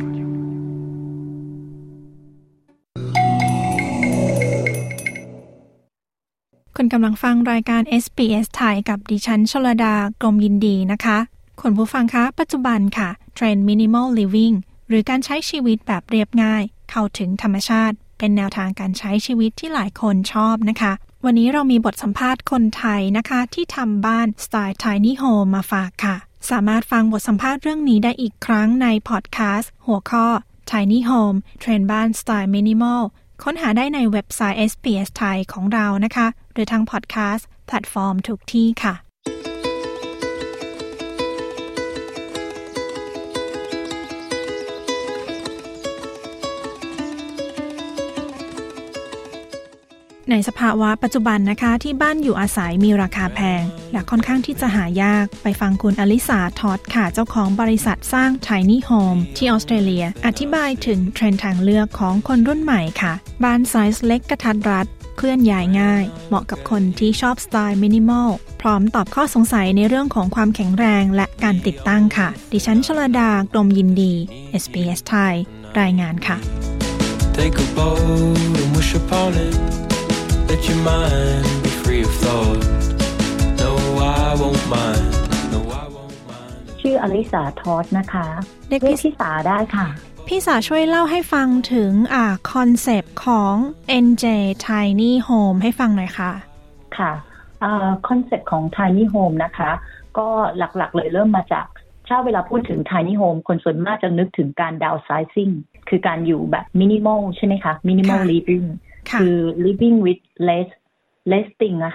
S3: คุณกำลังฟังรายการ SBS ไทยกับดิฉันชลดากรมยินดีนะคะคุณผู้ฟังคะปัจจุบันค่ะเทรนด์ Minimal Living หรือการใช้ชีวิตแบบเรียบง่ายเข้าถึงธรรมชาติเป็นแนวทางการใช้ชีวิตที่หลายคนชอบนะคะวันนี้เรามีบทสัมภาษณ์คนไทยนะคะที่ทำบ้านสไตล์ Tiny Home มาฝากค่ะสามารถฟังบทสัมภาษณ์เรื่องนี้ได้อีกครั้งในพอดแคสต์หัวข้อ Tiny Home เทรนด์บ้านสไตล์ Minimal ค้นหาได้ในเว็บไซต์ SBS ไทยของเรานะคะหรือทางพอดแคสต์แพลตฟอร์มทุกที่ค่ะในสภาวะปัจจุบันนะคะที่บ้านอยู่อาศัยมีราคาแพงและค่อนข้างที่จะหายากไปฟังคุณอลิสาทอดค่ะเจ้าของบริษัทสร้าง Tiny Home ที่ออสเตรเลียอธิบายถึงเทรนด์ทางเลือกของคนรุ่นใหม่ค่ะบ้านไซส์เล็กกระทัดรัดเคลื่อนย้ายง่ายเหมาะกับคนที่ชอบสไตล์มินิมอลพร้อมตอบข้อสงสัยในเรื่องของความแข็งแรงและการติดตั้งค่ะดิฉันชลดากรมยินดี SBS ไทยรายงานค่ะ
S11: Take a boat and wish upon it.Let your mind be free of thought. No, I won't mind. No, I won't mind.
S5: ชื่ออลิสาทอสนะคะเรียกพี่สาได้ค่ะ
S3: พี่สาช่วยเล่าให้ฟังถึงคอนเซปต์ของ NJ Tiny Home ให้ฟังหน่อยค่ะ
S5: ค่ะคอนเซปต์ของ Tiny Home นะคะก็หลักๆเลยเริ่มมาจากถ้าเวลาพูดถึง Tiny Home คนส่วนมากจะนึกถึงการ downsizing คือการอยู่แบบ minimal ใช่ไหมคะ minimal livingคือ living with less thing อะค่ะ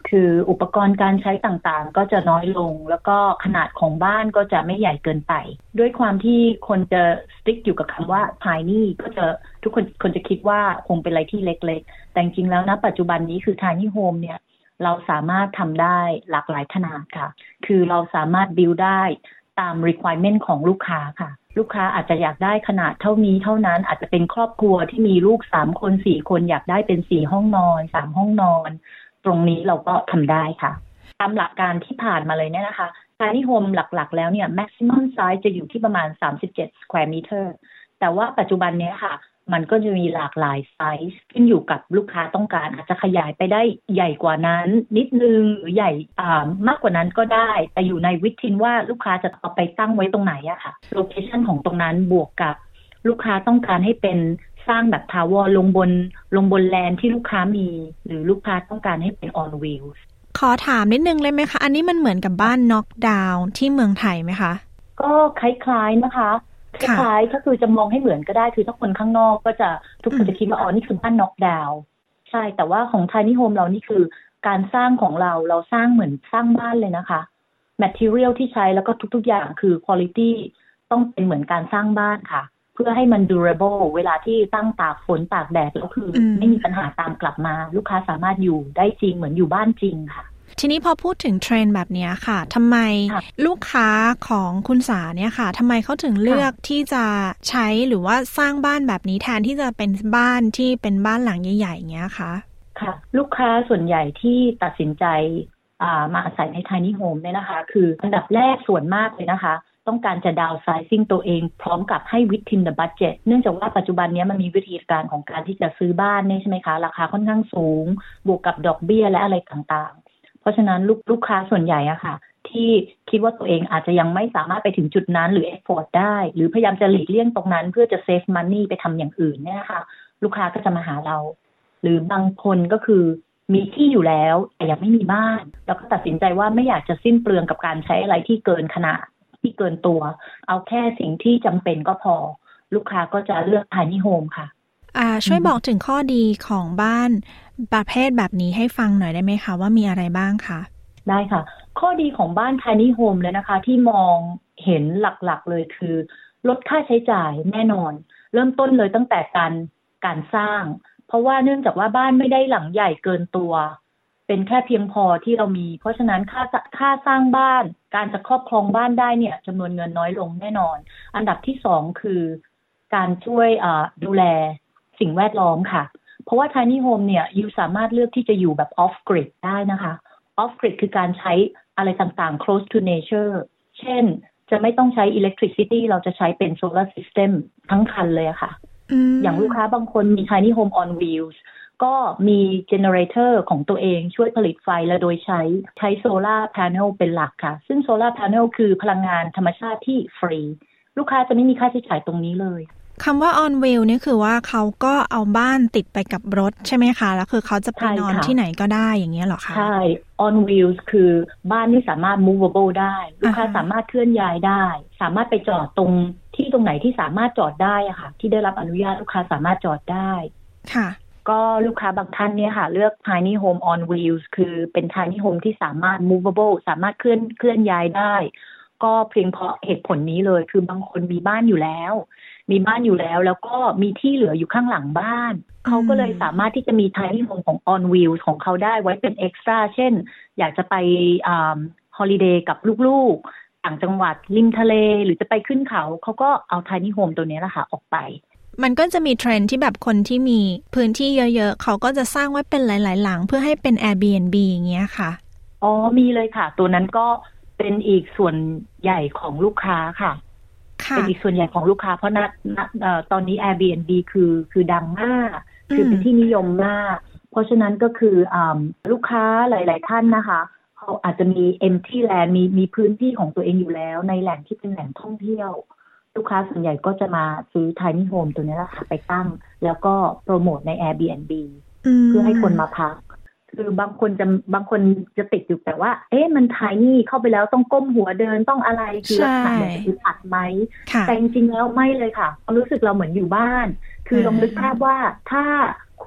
S5: คืออุปกรณ์การใช้ต่างๆก็จะน้อยลงแล้วก็ขนาดของบ้านก็จะไม่ใหญ่เกินไปด้วยความที่คนจะสติ๊กอยู่กับคำว่า tiny ก็จะทุกคนจะคิดว่าคงเป็นอะไรที่เล็กๆแต่จริงๆแล้วนะปัจจุบันนี้คือ tiny home เนี่ยเราสามารถทำได้หลากหลายขนาดค่ะคือเราสามารถ build ได้ตาม requirement ของลูกค้าค่ะลูกค้าอาจจะอยากได้ขนาดเท่านี้เท่านั้นอาจจะเป็นครอบครัวที่มีลูก3คน4คนอยากได้เป็น4ห้องนอน3ห้องนอนตรงนี้เราก็ทำได้ค่ะตามหลักการที่ผ่านมาเลยเนี่ยนะคะ tiny home หลักๆแล้วเนี่ย maximum size จะอยู่ที่ประมาณ37 square meter แต่ว่าปัจจุบันเนี้ยค่ะมันก็จะมีหลากหลายไซส์ขึ้นอยู่กับลูกค้าต้องการอาจจะขยายไปได้ใหญ่กว่านั้นนิดนึงหรือใหญ่มากกว่านั้นก็ได้แต่อยู่ในวิธีว่าลูกค้าจะเอาไปตั้งไว้ตรงไหนอะค่ะโลเคชั่นของตรงนั้นบวกกับลูกค้าต้องการให้เป็นสร้างแบบทาวเวอร์ลงบนแลนด์ที่ลูกค้ามีหรือลูกค้าต้องการให้เป็น on wheels
S3: ขอถามนิดนึงเลยไหมคะอันนี้มันเหมือนกับบ้านน็อกดาวน์ที่เมืองไทยไหมคะ
S5: ก็คล้ายๆนะคะคล้ายๆก็คือจะมองให้เหมือนก็ได้คือถ้าคนข้างนอกก็จะทุกคนจะคิดว่าอ๋อนี่คือบ้านน็อกดาวน์ใช่แต่ว่าของ Tiny Home เรานี่คือการสร้างของเราสร้างเหมือนสร้างบ้านเลยนะคะ material ที่ใช้แล้วก็ทุกๆอย่างคือ quality ต้องเป็นเหมือนการสร้างบ้านค่ะเพื่อให้มัน durable เวลาที่ตั้งตากฝนตากแดดแล้วคือไม่มีปัญหาตามกลับมาลูกค้าสามารถอยู่ได้จริงเหมือนอยู่บ้านจริงค่ะ
S3: ทีนี้พอพูดถึงเทรนด์แบบนี้ค่ะทำไมลูกค้าของคุณสาเนี่ยค่ะทำไมเขาถึงเลือกที่จะใช้หรือว่าสร้างบ้านแบบนี้แทนที่จะเป็นบ้านที่เป็นบ้านหลังใหญ่ๆอย่างเงี้ยคะ
S5: ค่ะลูกค้าส่วนใหญ่ที่ตัดสินใจมาอาศัยใน Tiny Home เนี่ยนะคะคืออันดับแรกส่วนมากเลยนะคะต้องการจะดาวน์ไซซิ่งตัวเองพร้อมกับให้ within the budget เนื่องจากว่าปัจจุบันนี้มันมีวิธีการของการที่จะซื้อบ้านนี่ใช่ไหมคะราคาค่อนข้างสูงบวกกับดอกเบี้ยและอะไรต่างๆเพราะฉะนั้นลูกค้าส่วนใหญ่อะค่ะที่คิดว่าตัวเองอาจจะยังไม่สามารถไปถึงจุดนั้นหรือ afford ได้หรือพยายามจะหลีกเลี่ยงตรงนั้นเพื่อจะ save money ไปทำอย่างอื่นเนี่ยค่ะลูกค้าก็จะมาหาเราหรือบางคนก็คือมีที่อยู่แล้วแต่ยังไม่มีบ้านแล้วก็ตัดสินใจว่าไม่อยากจะสิ้นเปลืองกับการใช้อะไรที่เกินขนาดที่เกินตัวเอาแค่สิ่งที่จำเป็นก็พอลูกค้าก็จะเลือก Tiny Home ค่ะ
S3: ช่วยบอกถึงข้อดีของบ้านประเภทแบบนี้ให้ฟังหน่อยได้ไหมคะว่ามีอะไรบ้างคะ
S5: ได้ค่ะข้อดีของบ้าน Tiny Home เลยนะคะที่มองเห็นหลักๆเลยคือลดค่าใช้จ่ายแน่นอนเริ่มต้นเลยตั้งแต่การสร้างเพราะว่าเนื่องจากว่าบ้านไม่ได้หลังใหญ่เกินตัวเป็นแค่เพียงพอที่เรามีเพราะฉะนั้นค่าสร้างบ้านการจะครอบครองบ้านได้เนี่ยจำนวนเงินน้อยลงแน่นอนอันดับที่2คือการช่วยดูแลสิ่งแวดล้อมค่ะเพราะว่า Tiny Home เนี่ยยูสามารถเลือกที่จะอยู่แบบ off grid ได้นะคะ off grid คือการใช้อะไรต่างๆ close to nature เช่นจะไม่ต้องใช้ electricity เราจะใช้เป็น solar system ทั้งคันเลยค่ะอย่างลูกค้าบางคนมี Tiny Home on wheels ก็มีเจเนเรเตอร์ของตัวเองช่วยผลิตไฟและโดยใช้โซลาร์แผงเป็นหลักค่ะซึ่งโซลาร์แผงคือพลังงานธรรมชาติที่ฟรีลูกค้าจะไม่มีค่าใช้จ่ายตรงนี้เลย
S3: คำว่า on wheel นี่คือว่าเขาก็เอาบ้านติดไปกับรถใช่ไหมคะแล้วคือเขาจะไปนอนที่ไหนก็ได้อย่างเงี้ยหรอคะ
S5: ใช่ on wheels คือบ้านที่สามารถ movable ได้ลูกค้าสามารถเคลื่อนย้ายได้สามารถไปจอดตรงไหนที่สามารถจอดได้อะค่ะที่ได้รับอนุญาตลูกค้าสามารถจอดได้
S3: ค่ะ
S5: ก็ลูกค้าบางท่านเนี่ยค่ะเลือก Tiny Home on Wheels คือเป็น Tiny Home ที่สามารถ movable สามารถเคลื่อนย้ายได้ก็เพียงเพราะเหตุผลนี้เลยคือบางคนมีบ้านอยู่แล้วแล้วก็มีที่เหลืออยู่ข้างหลังบ้านเขาก็เลยสามารถที่จะมี Tiny Home ของ on Wheels ของเขาได้ไว้เป็น extra เช่นอยากจะไปholiday กับลูกๆต่างจังหวัดริมทะเลหรือจะไปขึ้นเขาก็เอา Tiny Home ตัวนี้แหละค่ะออกไป
S3: มันก็จะมีเทรนด์ที่แบบคนที่มีพื้นที่เยอะๆเขาก็จะสร้างไว้เป็นหลายๆหลังเพื่อให้เป็น Airbnb อย่างเงี้ยค่ะ
S5: อ๋อมีเลยค่ะตัวนั้นก็เป็นอีกส่วนใหญ่ของลูกค้าค่ะเป็นอีกส่วนใหญ่ของลูกค้าเพราะตอนนี้ Airbnb คือดังมากคือเป็นที่นิยมมากเพราะฉะนั้นก็คือลูกค้าหลายๆท่านนะคะเขาอาจจะมี empty land มีพื้นที่ของตัวเองอยู่แล้วในแหล่งที่เป็นแหล่งท่องเที่ยวลูกค้าส่วนใหญ่ก็จะมาซื้อ Tiny Home ตัวนี้แหละค่ะไปตั้งแล้วก็โปรโมทใน Airbnb เพื่อให้คนมาพักคือบางคนจะติดอยู่แต่ว่ามัน Tiny เข้าไปแล้วต้องก้มหัวเดินต้องอะไรคือลักษณะแบบคืออัดไหมแต่จริงๆแล้วไม่เลยค่ะความรู้สึกเราเหมือนอยู่บ้านคือลองนึกภาพว่าถ้าค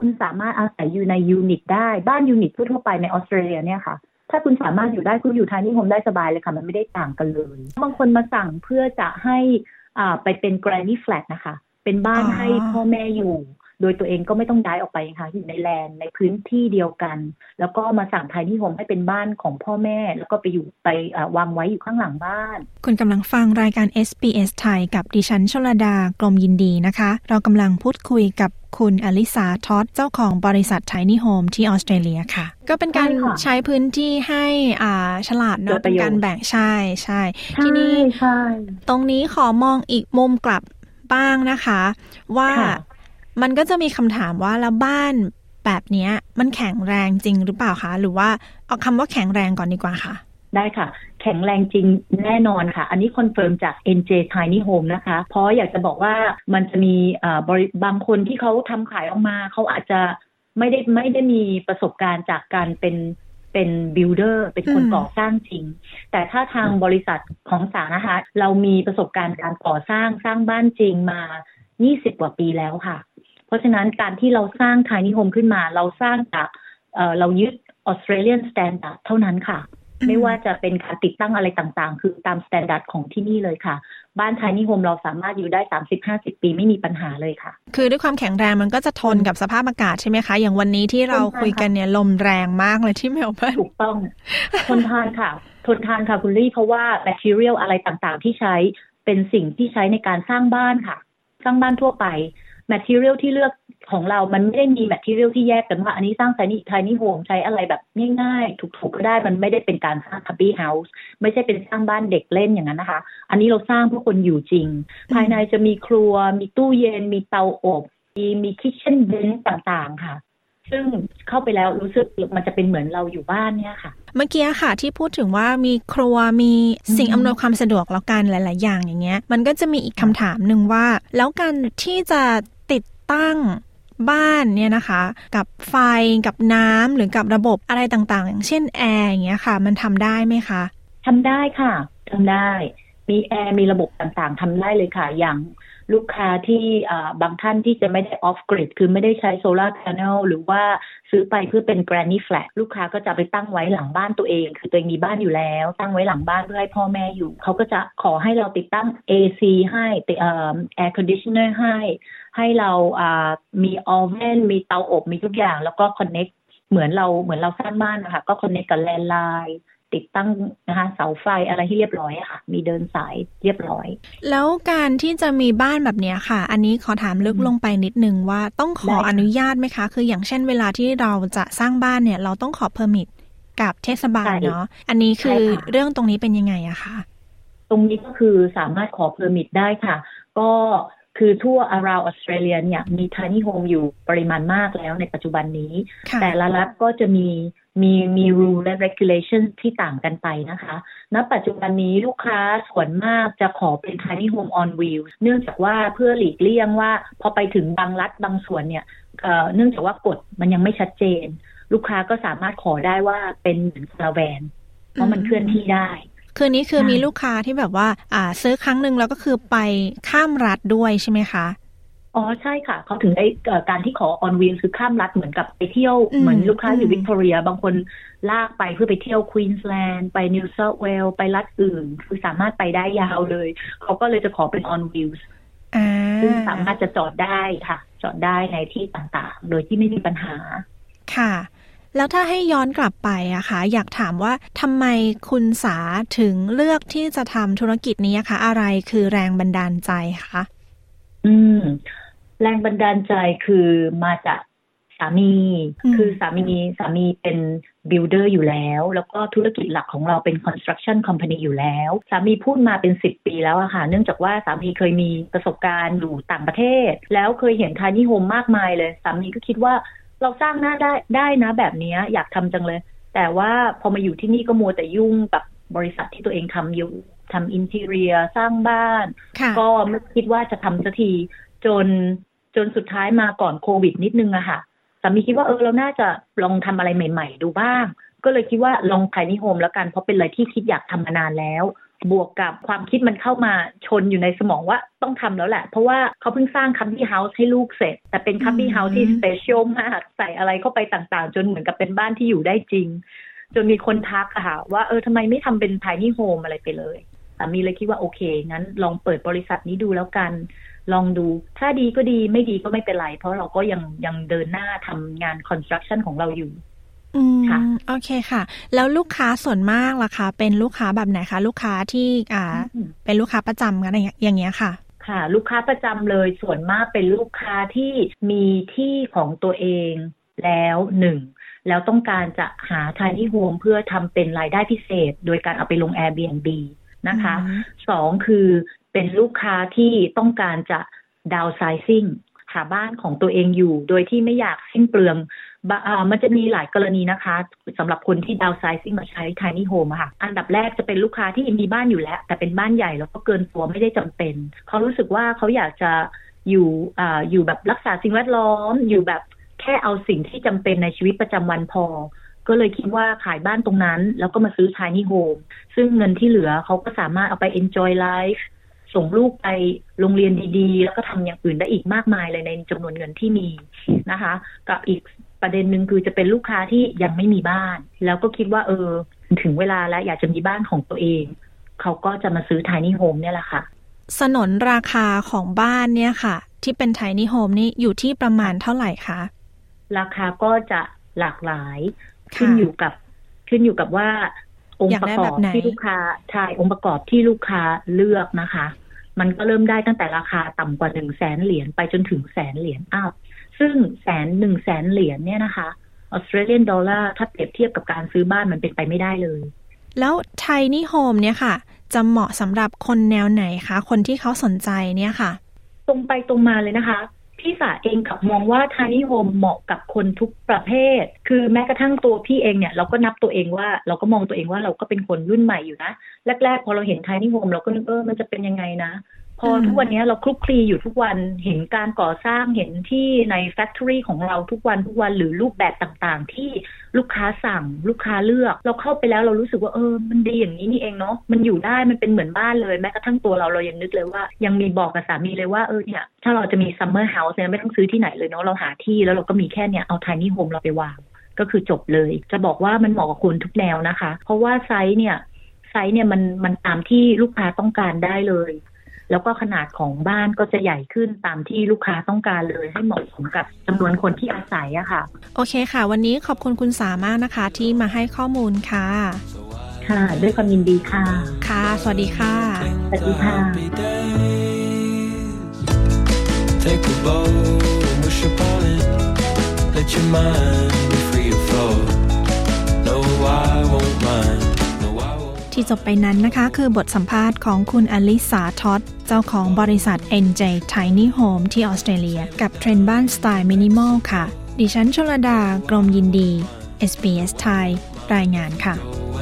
S5: คุณสามารถอาศัยอยู่ในยูนิตได้บ้านยูนิตทั่วไปในออสเตรเลียเนี่ยค่ะถ้าคุณสามารถอยู่ได้คุณอยู่tiny homeได้สบายเลยค่ะมันไม่ได้ต่างกันเลยบางคนมาสั่งเพื่อจะให้ไปเป็น granny flat นะคะเป็นบ้านให้พ่อแม่อยู่โดยตัวเองก็ไม่ต้องย้ายออกไปค่ะอยู่ในแลนด์ในพื้นที่เดียวกันแล้วก็มาสั่งtiny homeให้เป็นบ้านของพ่อแม่แล้วก็ไปวางไว้อยู่ข้างหลังบ้าน
S3: คุณกำลังฟังรายการ SBS ไทยกับดิฉันชลดากลมยินดีนะคะเรากำลังพูดคุยกับคุณอลิสาท็อดเจ้าของบริษัท Tiny Home ที่ออสเตรเลียค่ะก็เป็นการใช้พื้นที่ให้ฉลาดเนาะเป็นการแบ่งใช่ทีนี้ตรงนี้ขอมองอีกมุมกลับบ้างนะคะว่ามันก็จะมีคำถามว่าแล้วบ้านแบบนี้มันแข็งแรงจริงหรือเปล่าคะหรือว่าเอาคำว่าแข็งแรงก่อนดีกว่าค่ะ
S5: ได้ค่ะแข็งแรงจริงแน่นอนค่ะอันนี้คอนเฟิร์มจาก NJ Tiny Home นะคะเพราะอยากจะบอกว่ามันจะมีบางคนที่เขาทำขายออกมาเขาอาจจะไม่ได้มีประสบการณ์จากการเป็นบิลเดอร์เป็นคนก่อสร้างจริงแต่ถ้าทางบริษัทของสานะคะเรามีประสบการณ์การก่อสร้างบ้านจริงมา20 กว่าปีแล้วค่ะเพราะฉะนั้นการที่เราสร้าง Tiny Home ขึ้นมาเราสร้างจากเรายึด Australian Standard เท่านั้นค่ะไม่ว่าจะเป็นการติดตั้งอะไรต่างๆคือตาม Standard ของที่นี่เลยค่ะบ้าน Tiny Home เราสามารถอยู่ได้ 30-50 ปีไม่มีปัญหาเลยค่ะ
S3: คือด้วยความแข็งแรงมันก็จะทนกับสภาพอากาศใช่ไหมคะอย่างวันนี้ที่เราคุยกันเนี่ยลมแรงมากเลยที่เมลเบิร์น
S5: ถูกต้องทนทานค่ะคุณลี่เพราะว่า material อะไรต่างๆที่ใช้เป็นสิ่งที่ใช้ในการสร้างบ้านค่ะสร้างบ้านทั่วไปmaterial ที่เลือกของเรามันไม่ได้มี material ที่แยกกันว่าอันนี้สร้าง tiny home ใช้อะไรแบบง่ายๆถูกๆก็ได้มันไม่ได้เป็นการสร้าง hobby house ไม่ใช่เป็นสร้างบ้านเด็กเล่นอย่างนั้นนะคะอันนี้เราสร้างเพื่อคนอยู่จริงภายในจะมีครัวมีตู้เย็นมีเตาอบมี kitchen bench ต่างๆค่ะซึ่งเข้าไปแล้วรู้สึกมันจะเป็นเหมือนเราอยู่บ้านเนี่ยค่ะ
S3: เมื่อกี้ค่ะที่พูดถึงว่ามีครัวมีสิ่งอำนวยความสะดวกแล้วกันหลายๆอย่างอย่างเงี้ยมันก็จะมีอีกคำถามนึงว่าแล้วการที่จะติดตั้งบ้านเนี่ยนะคะกับไฟกับน้ำหรือกับระบบอะไรต่างๆอย่างเช่นแอร์อย่างเงี้ยค่ะมันทำได้ไหมคะ
S5: ทำได้ค่ะทำได้มีแอร์มีระบบต่างๆทำได้เลยค่ะอย่างลูกค้าที่บางท่านที่จะไม่ได้ออฟกริดคือไม่ได้ใช้โซลาร์แพเนลหรือว่าซื้อไปเพื่อเป็น Granny Flat ลูกค้าก็จะไปตั้งไว้หลังบ้านตัวเองคือตัวเองมีบ้านอยู่แล้วตั้งไว้หลังบ้านเพื่อให้พ่อแม่อยู่เขาก็จะขอให้เราติดตั้ง AC ให้Air Conditioner ให้เรามีออเว่นมีเตาอบมีทุกอย่างแล้วก็ Connect เหมือนเราสร้างบ้านนะคะก็ Connect กับแลนด์ไลน์ติดตั้งนะคะเสาไฟอะไรที่เรียบร้อยค่ะมีเดินสายเรียบร้อย
S3: แล้วการที่จะมีบ้านแบบนี้ค่ะอันนี้ขอถามลึกลงไปนิดนึงว่าต้องขออนุญาตไหมคะคืออย่างเช่นเวลาที่เราจะสร้างบ้านเนี่ยเราต้องขอเพอร์มิทกับเทศบาลเนาะอันนี้คือเรื่องตรงนี้เป็นยังไงอะคะ
S5: ตรงนี้ก็คือสามารถขอเพอร์มิทได้ค่ะก็คือทั่ว around Australia เนี่ยมี tiny home อยู่ปริมาณมากแล้วในปัจจุบันนี้แต่ละรัฐก็จะมี rule และ regulation ที่ต่างกันไปนะคะณปัจจุบันนี้ลูกค้าส่วนมากจะขอเป็น tiny home on wheels เนื่องจากว่าเพื่อหลีกเลี่ยงว่าพอไปถึงบางรัฐบางส่วนเนี่ยเนื่องจากว่ากฎมันยังไม่ชัดเจนลูกค้าก็สามารถขอได้ว่าเป็นเหมือนคาราแวนเพราะมันเคลื่อนที่ได้
S3: คืนนี้คือมีลูกค้าที่แบบว่าซื้อครั้งนึงแล้วก็คือไปข้ามรัฐด้วยใช่ไหมคะ
S5: อ๋อใช่ค่ะเขาถึงได้การที่ขอ on wheel คือข้ามรัฐเหมือนกับไปเที่ยวเหมือนลูกค้าอยู่วิกตอเรียบางคนลากไปเพื่อไปเที่ยวควีนส์แลนด์ไปนิวเซาท์เวลส์ไปรัฐอื่นคือสามารถไปได้ยาวเลยเขาก็เลยจะขอเป็น on wheels ซึ่งสามารถจะจอดได้ค่ะจอดได้ในที่ต่างๆโดยที่ไม่มีปัญหา
S3: ค่ะแล้วถ้าให้ย้อนกลับไปอะค่ะอยากถามว่าทำไมคุณสาถึงเลือกที่จะทำธุรกิจนี้คะอะไรคือแรงบันดาลใจคะ
S5: แรงบันดาลใจคือมาจากสามีคือสามีเป็นบิลเดอร์อยู่แล้วแล้วก็ธุรกิจหลักของเราเป็น construction company อยู่แล้วสามีพูดมาเป็น10 ปีแล้วอะค่ะเนื่องจากว่าสามีเคยมีประสบการณ์อยู่ต่างประเทศแล้วเคยเห็น tiny home มากมายเลยสามีก็คิดว่าเราสร้างหน้าได้นะแบบนี้อยากทำจังเลยแต่ว่าพอมาอยู่ที่นี่ก็มัวแต่ยุ่งกับบริษัทที่ตัวเองทำอยู่ทำอินทีเรียสร้างบ้านก็ไม่คิดว่าจะทำสักทีจนสุดท้ายมาก่อนโควิดนิดนึงอะค่ะสามีคิดว่าเราน่าจะลองทำอะไรใหม่ๆดูบ้างก็เลยคิดว่าลองtiny homeแล้วกันเพราะเป็นอะไรที่คิดอยากทำมานานแล้วบวกกับความคิดมันเข้ามาชนอยู่ในสมองว่าต้องทำแล้วแหละเพราะว่าเขาเพิ่งสร้างคัมบี้เฮาส์ให้ลูกเสร็จแต่เป็นคัมบี้เฮาส์ที่สเปเชียลมากใส่อะไรเข้าไปต่างๆจนเหมือนกับเป็นบ้านที่อยู่ได้จริงจนมีคนทักค่ะว่าทำไมไม่ทำเป็นไทนี่โฮมอะไรไปเลยสามีเลยคิดว่าโอเคงั้นลองเปิดบริษัทนี้ดูแล้วกันลองดูถ้าดีก็ดีไม่ดีก็ไม่เป็นไรเพราะเราก็ยังเดินหน้าทำงานคอนสตรัคชั่นของเราอยู่
S3: ค่ะโอเคค่ะแล้วลูกค้าส่วนมากล่ะคะเป็นลูกค้าแบบไหนคะลูกค้าที่เป็นลูกค้าประจำกันอย่างเงี้ยค่ะ
S5: ค่ะลูกค้าประจำเลยส่วนมากเป็นลูกค้าที่มีที่ของตัวเองแล้วแล้วต้องการจะหา tiny home เพื่อทำเป็นรายได้พิเศษโดยการเอาไปลง Airbnb นะคะ2คือเป็นลูกค้าที่ต้องการจะ downsizing หาบ้านของตัวเองอยู่โดยที่ไม่อยากสิ้นเปลืองมันจะมีหลายกรณีนะคะสำหรับคนที่ downsizing มาใช้ tiny home ค่ะอันดับแรกจะเป็นลูกค้าที่มีบ้านอยู่แล้วแต่เป็นบ้านใหญ่แล้วก็เกินตัวไม่ได้จำเป็นเขารู้สึกว่าเขาอยากจะอยู่แบบรักษาสิ่งแวดล้อมอยู่แบบแค่เอาสิ่งที่จำเป็นในชีวิตประจำวันพอก็เลยคิดว่าขายบ้านตรงนั้นแล้วก็มาซื้อ tiny home ซึ่งเงินที่เหลือเขาก็สามารถเอาไป enjoy life ส่งลูกไปโรงเรียนดีๆแล้วก็ทำอย่างอื่นได้อีกมากมายเลยในจำนวนเงินที่มีนะคะกับอีกประเด็นหนึ่งคือจะเป็นลูกค้าที่ยังไม่มีบ้านแล้วก็คิดว่าถึงเวลาแล้วอยากจะมีบ้านของตัวเองเขาก็จะมาซื้อ tiny home เนี่ยแหละค่ะ
S3: สนนราคาของบ้านเนี่ยค่ะที่เป็น tiny home นี่อยู่ที่ประมาณเท่าไหร่คะ
S5: ราคาก็จะหลากหลายขึ้นอยู่กับว่าองค์ประกอบที่ลูกค้าใช่องค์ประกอบที่ลูกค้าเลือกนะคะมันก็เริ่มได้ตั้งแต่ราคาต่ำกว่า 100,000 เหรียญไปจนถึง100,000 เหรียญซึ่ง100,000 เหรียญเนี่ยนะคะออสเตรเลียนดอลลาร์ถ้าเปรียบเทียบกับการซื้อบ้านมันเป็นไปไม่ได้เลย
S3: แล้ว tiny home เนี่ยค่ะจะเหมาะสำหรับคนแนวไหนคะคนที่เขาสนใจเนี่ยค่ะ
S5: ตรงไปตรงมาเลยนะคะพี่สาเองกับมองว่า tiny home เหมาะกับคนทุกประเภทคือแม้กระทั่งตัวพี่เองเนี่ยเราก็นับตัวเองว่าเราก็มองตัวเองว่าเราก็เป็นคนรุ่นใหม่อยู่นะแรกๆพอเราเห็น tiny home เราก็นึกมันจะเป็นยังไงนะพอทุกวันนี้เราคลุกคลีอยู่ทุกวันเห็นการก่อสร้างเห็นที่ใน factory ของเราทุกวันหรือรูปแบบต่างๆที่ลูกค้าสั่งลูกค้าเลือกเราเข้าไปแล้วเรารู้สึกว่ามันดีอย่างนี้นี่เองเนาะมันอยู่ได้มันเป็นเหมือนบ้านเลยแม้กระทั่งตัวเรายังนึกเลยว่ายังมีบอกกับสามีเลยว่าเนี่ยถ้าเราจะมี summer house เนี่ยไม่ต้องซื้อที่ไหนเลยเนาะเราหาที่แล้วเราก็มีแค่เนี่ยเอา tiny home เราไปวางก็คือจบเลยจะบอกว่ามันเหมาะกับคนทุกแนวนะคะเพราะว่าไซส์เนี่ยมันตามที่ลูกค้าต้องการได้เลยแล้วก็ขนาดของบ้านก็จะใหญ่ขึ้นตามที่ลูกค้าต้องการเลยให้เหมาะสมกับจำนวนคนที่อาศัยอะค่ะ
S3: โอเคค่ะวันนี้ขอบคุณคุณสามากนะคะที่มาให้ข้อมูลค่ะ
S5: ค่ะด้วยความยินดีค่ะ
S3: ค่ะสวัสดีค่ะ
S5: สวัสดีค่ะ
S11: Take a boat and wish upon it Let your mind be free of thought No I won't mind
S3: ที่จบไปนั้นนะคะคือบทสัมภาษณ์ของคุณอลิสาท็อตเจ้าของบริษัท NJ Tiny Home ที่ออสเตรเลียกับเทรนด์บ้านสไตล์มินิมอลค่ะดิฉันชลดากรมยินดี SBS ไทยรายงานค่ะ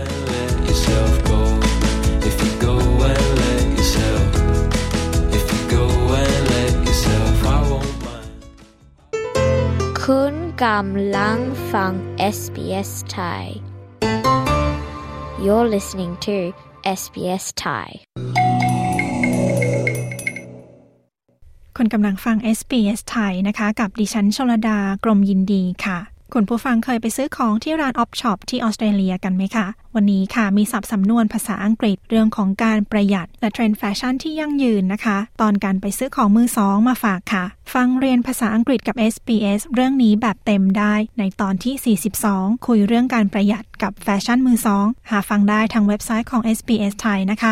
S9: คุณกำลังฟัง SBS ไทยYou're listening to SBS Thai
S3: คุณกำลังฟัง SBS ไทยนะคะกับดิฉันชลดากรมยินดีค่ะคุณผู้ฟังเคยไปซื้อของที่ร้านออฟช็อปที่ออสเตรเลียกันไหมคะวันนี้ค่ะมีศัพท์สำนวนภาษาอังกฤษเรื่องของการประหยัดและเทรนด์แฟชั่นที่ยั่งยืนนะคะตอนการไปซื้อของมือสองมาฝากค่ะฟังเรียนภาษาอังกฤษกับ SBS เรื่องนี้แบบเต็มได้ในตอนที่42คุยเรื่องการประหยัดกับแฟชั่นมือสองหาฟังได้ทางเว็บไซต์ของ SBS ไทยนะคะ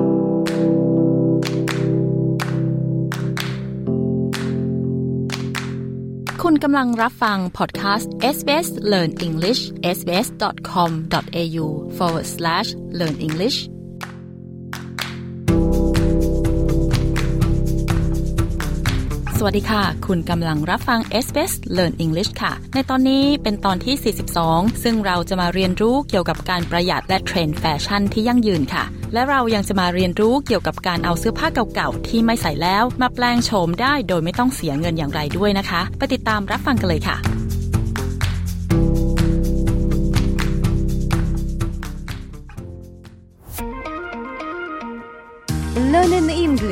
S10: คุณกำลังรับฟังพอดคาสต์ SBS Learn English sbs.com.au/learn English สวัสดีค่ะคุณกำลังรับฟัง SBS Learn English ค่ะในตอนนี้เป็นตอนที่42ซึ่งเราจะมาเรียนรู้เกี่ยวกับการประหยัดและเทรนด์แฟชั่นที่ยั่งยืนค่ะและเรายังจะมาเรียนรู้เกี่ยวกับการเอาเสื้อผ้าเก่าๆที่ไม่ใส่แล้วมาแปลงโฉมได้โดยไม่ต้องเสียเงินอย่างไรด้วยนะคะไปติดตามรับฟังกันเลยค่ะ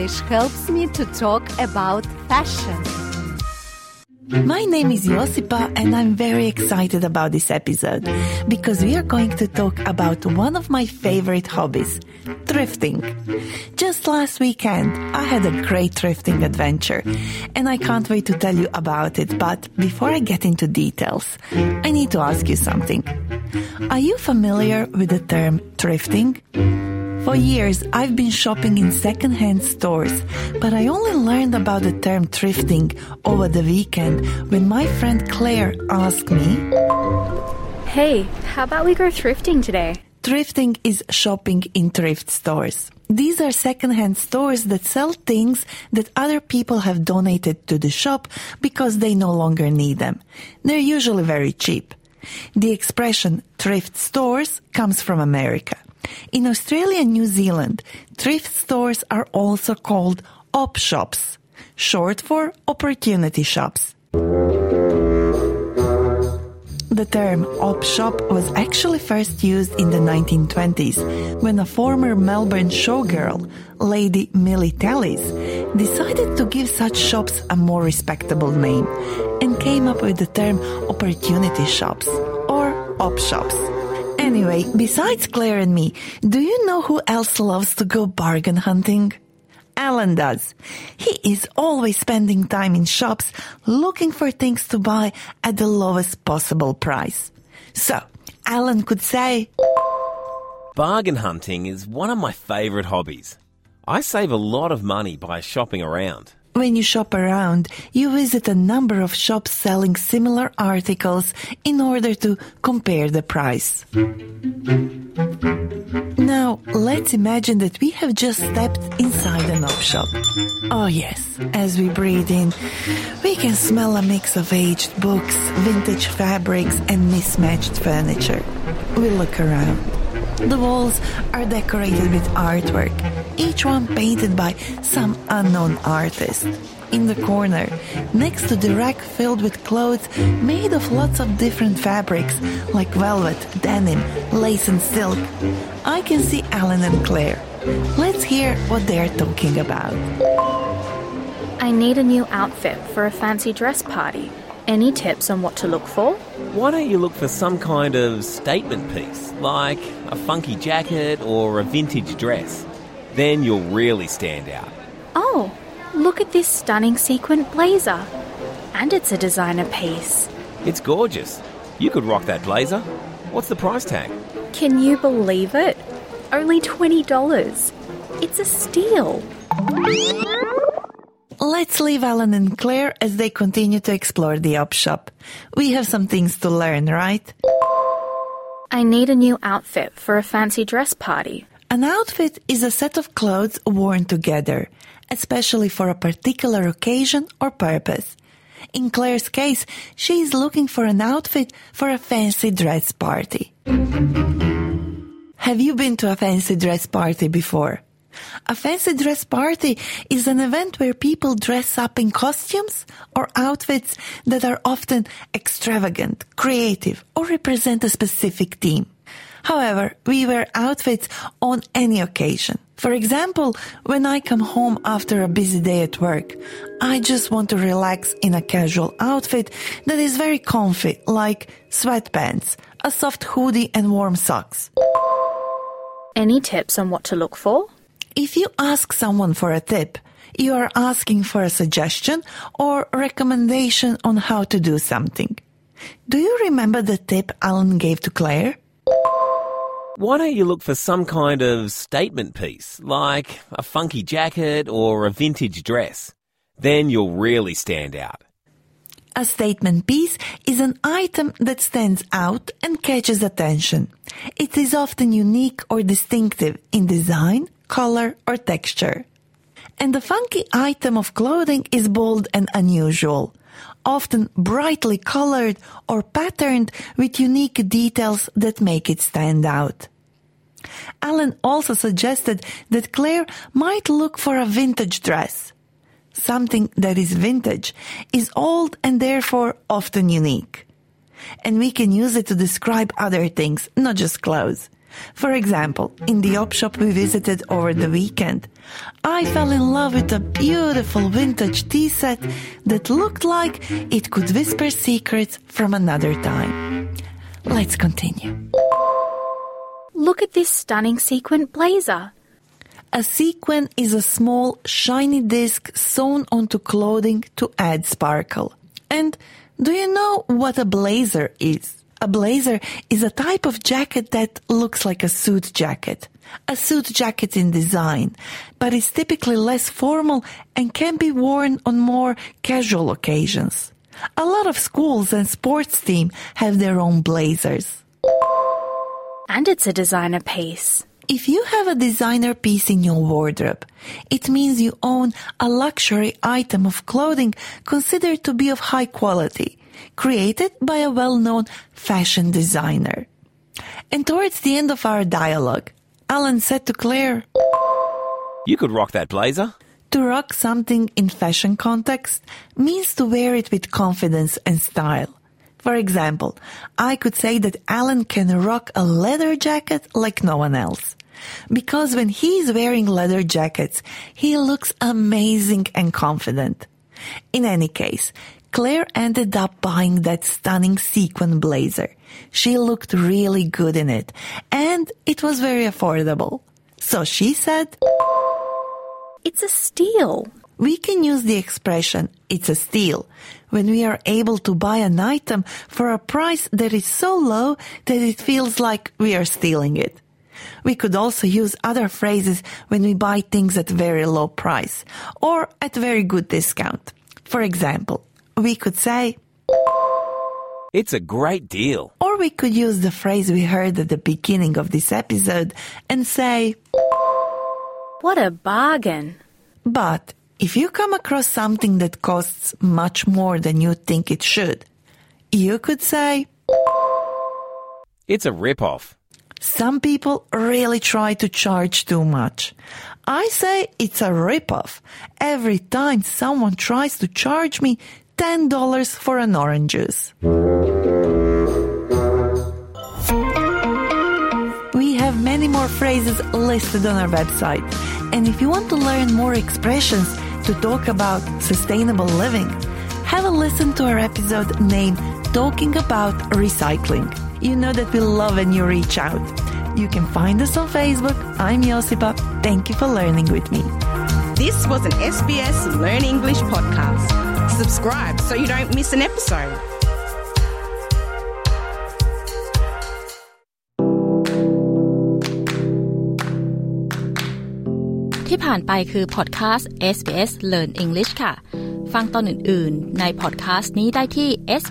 S12: English helps me to talk about fashion.
S13: My name is Josipa and I'm very excited about this episode because we are going to talk about one of my favorite hobbies, thrifting. Just last weekend, I had a great thrifting adventure and I can't wait to tell you about it. But before I get into details, I need to ask you something. Are you familiar with the term thrifting? For years, I've been shopping in second-hand stores, but I only learned about the term thrifting over the weekend when my friend Claire asked me,
S14: "Hey, how about we go thrifting today?"
S13: Thrifting is shopping in thrift stores. These are second-hand stores that sell things that other people have donated to the shop because they no longer need them. They're usually very cheap. The expression thrift stores comes from America. In Australia and New Zealand, thrift stores are also called op shops, short for opportunity shops. The term op shop was actually first used in the 1920s when a former Melbourne showgirl, Lady Millie Tallis, decided to give such shops a more respectable name and came up with the term opportunity shops or op shops. Anyway, besides Claire and me, do you know who else loves to go bargain hunting? Alan does. He is always spending time in shops looking for things to buy at the lowest possible price. So, Alan could say,
S15: bargain hunting is one of my favourite hobbies. I save a lot of money by shopping around.
S13: When you shop around, you visit a number of shops selling similar articles in order to compare the price. Now, let's imagine that we have just stepped inside an op shop. Oh yes, as we breathe in, we can smell a mix of aged books, vintage fabrics, and mismatched furniture. We look around. The walls are decorated with artwork, each one painted by some unknown artist. In the corner, next to the rack filled with clothes made of lots of different fabrics like velvet, denim, lace and silk, I can see Alan and Claire. Let's hear what they're talking about.
S14: I need a new outfit for a fancy dress party. Any tips on what to look for?
S15: Why don't you look for some kind of statement piece, like a funky jacket or a vintage dress? Then you'll really stand out.
S14: Oh, look at this stunning sequin blazer. And it's a designer piece.
S15: It's gorgeous. You could rock that blazer. What's the price tag?
S14: Can you believe it? Only $20. It's a steal.
S13: Let's leave Alan and Claire as they continue to explore the op shop. We have some things to learn, right?
S14: I need a new outfit for a fancy dress party.
S13: An outfit is a set of clothes worn together, especially for a particular occasion or purpose. In Claire's case, she is looking for an outfit for a fancy dress party. Have you been to a fancy dress party before? A fancy dress party is an event where people dress up in costumes or outfits that are often extravagant, creative, or represent a specific theme. However, we wear outfits on any occasion. For example, when I come home after a busy day at work, I just want to relax in a casual outfit that is very comfy, like sweatpants, a soft hoodie, and warm socks.
S14: Any tips on what to look for?
S13: If you ask someone for a tip, you are asking for a suggestion or recommendation on how to do something. Do you remember the tip Alan gave to Claire?
S15: Why don't you look for some kind of statement piece, like a funky jacket or a vintage dress? Then you'll really stand out.
S13: A statement piece is an item that stands out and catches attention. It is often unique or distinctive in design, color, or texture. And the funky item of clothing is bold and unusual, often brightly colored or patterned with unique details that make it stand out. Alan also suggested that Claire might look for a vintage dress. Something that is vintage is old and therefore often unique. And we can use it to describe other things, not just clothes. For example, in the op shop we visited over the weekend, I fell in love with a beautiful vintage tea set that looked like it could whisper secrets from another time. Let's continue.
S14: Look at this stunning sequin blazer.
S13: A sequin is a small, shiny disc sewn onto clothing to add sparkle. And do you know what a blazer is? A blazer is a type of jacket that looks like a suit jacket. A suit jacket in design, but is typically less formal and can be worn on more casual occasions. A lot of schools and sports teams have their own blazers.
S14: And it's a designer piece.
S13: If you have a designer piece in your wardrobe, it means you own a luxury item of clothing considered to be of high quality, created by a well-known fashion designer. And towards the end of our dialogue, Alan said to Claire,
S15: "You could rock that blazer."
S13: To rock something in fashion context means to wear it with confidence and style. For example, I could say that Alan can rock a leather jacket like no one else. Because when he's wearing leather jackets, he looks amazing and confident. In any case, Claire ended up buying that stunning sequin blazer. She looked really good in it, and it was very affordable. So she said,
S14: "It's a steal."
S13: We can use the expression, "it's a steal," when we are able to buy an item for a price that is so low that it feels like we are stealing it. We could also use other phrases when we buy things at very low price or at very good discount. For example, we could say,
S15: "It's a great deal."
S13: Or we could use the phrase we heard at the beginning of this episode and say,
S14: "What a bargain."
S13: But if you come across something that costs much more than you think it should, you could say,
S15: "It's a rip-off."
S13: Some people really try to charge too much. I say it's a rip-off every time someone tries to charge me $10 for an orange juice. We have many more phrases listed on our website. And if you want to learn more expressions to talk about sustainable living, have a listen to our episode named Talking About Recycling. You know that we love when you reach out. You can find us on Facebook. I'm Josipa. Thank you for learning with me.
S16: This was an SBS Learn English podcast. Subscribe so you don't miss an episode.
S10: ที่ผ่านไปคือพอดแคสต์ SBS Learn English ค่ะฟังตอนอื่นๆในพอดแคสต์นี้ได้ที่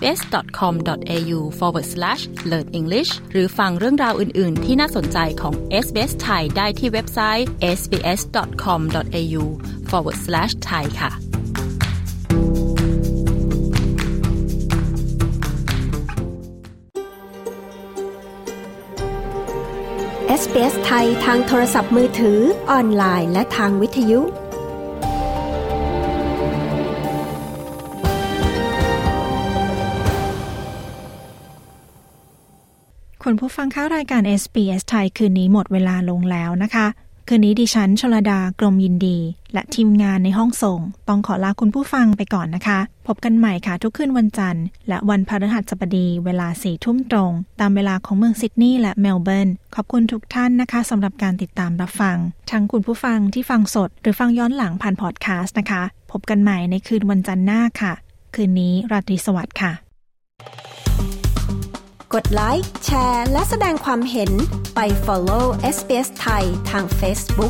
S10: sbs.com.au/learnenglish หรือฟังเรื่องราวอื่นๆที่น่าสนใจของ SBS ไทยได้ที่เว็บไซต์ sbs.com.au/thai ค่ะ
S1: SBS ไทยทางโทรศัพท์มือถือออนไลน์และทางวิทยุ
S3: คุณผู้ฟังเข้ารายการ SBS ไทยคืนนี้หมดเวลาลงแล้วนะคะคืนนี้ดิฉันชลดากรมยินดีและทีมงานในห้องส่งต้องขอลาคุณผู้ฟังไปก่อนนะคะพบกันใหม่ค่ะทุกคืนวันจันทร์และวันพฤหัสบดีเวลา 4 ทุ่มตรงตามเวลาของเมืองซิดนีย์และเมลเบิร์นขอบคุณทุกท่านนะคะสำหรับการติดตามรับฟังทั้งคุณผู้ฟังที่ฟังสดหรือฟังย้อนหลังผ่านพอดแคสต์นะคะพบกันใหม่ในคืนวันจันทร์หน้าค่ะคืนนี้ราตรีสวัสดิ์ค่ะ
S1: กดไลค์แชร์และแสดงความเห็นไป follow SBS ไทยทาง Facebook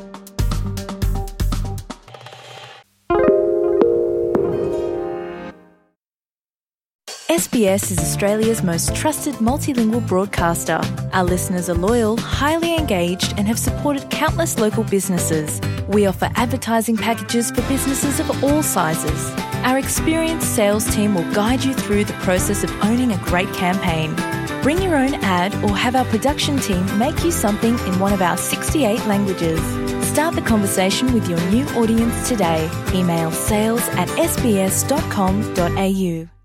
S17: SBS is Australia's most trusted multilingual broadcaster. Our listeners are loyal, highly engaged, and have supported countless local businesses. We offer advertising packages for businesses of all sizes. Our experienced sales team will guide you through the process of owning a great campaign. Bring your own ad or have our production team make you something in one of our 68 languages. Start the conversation with your new audience today. Email sales@sbs.com.au.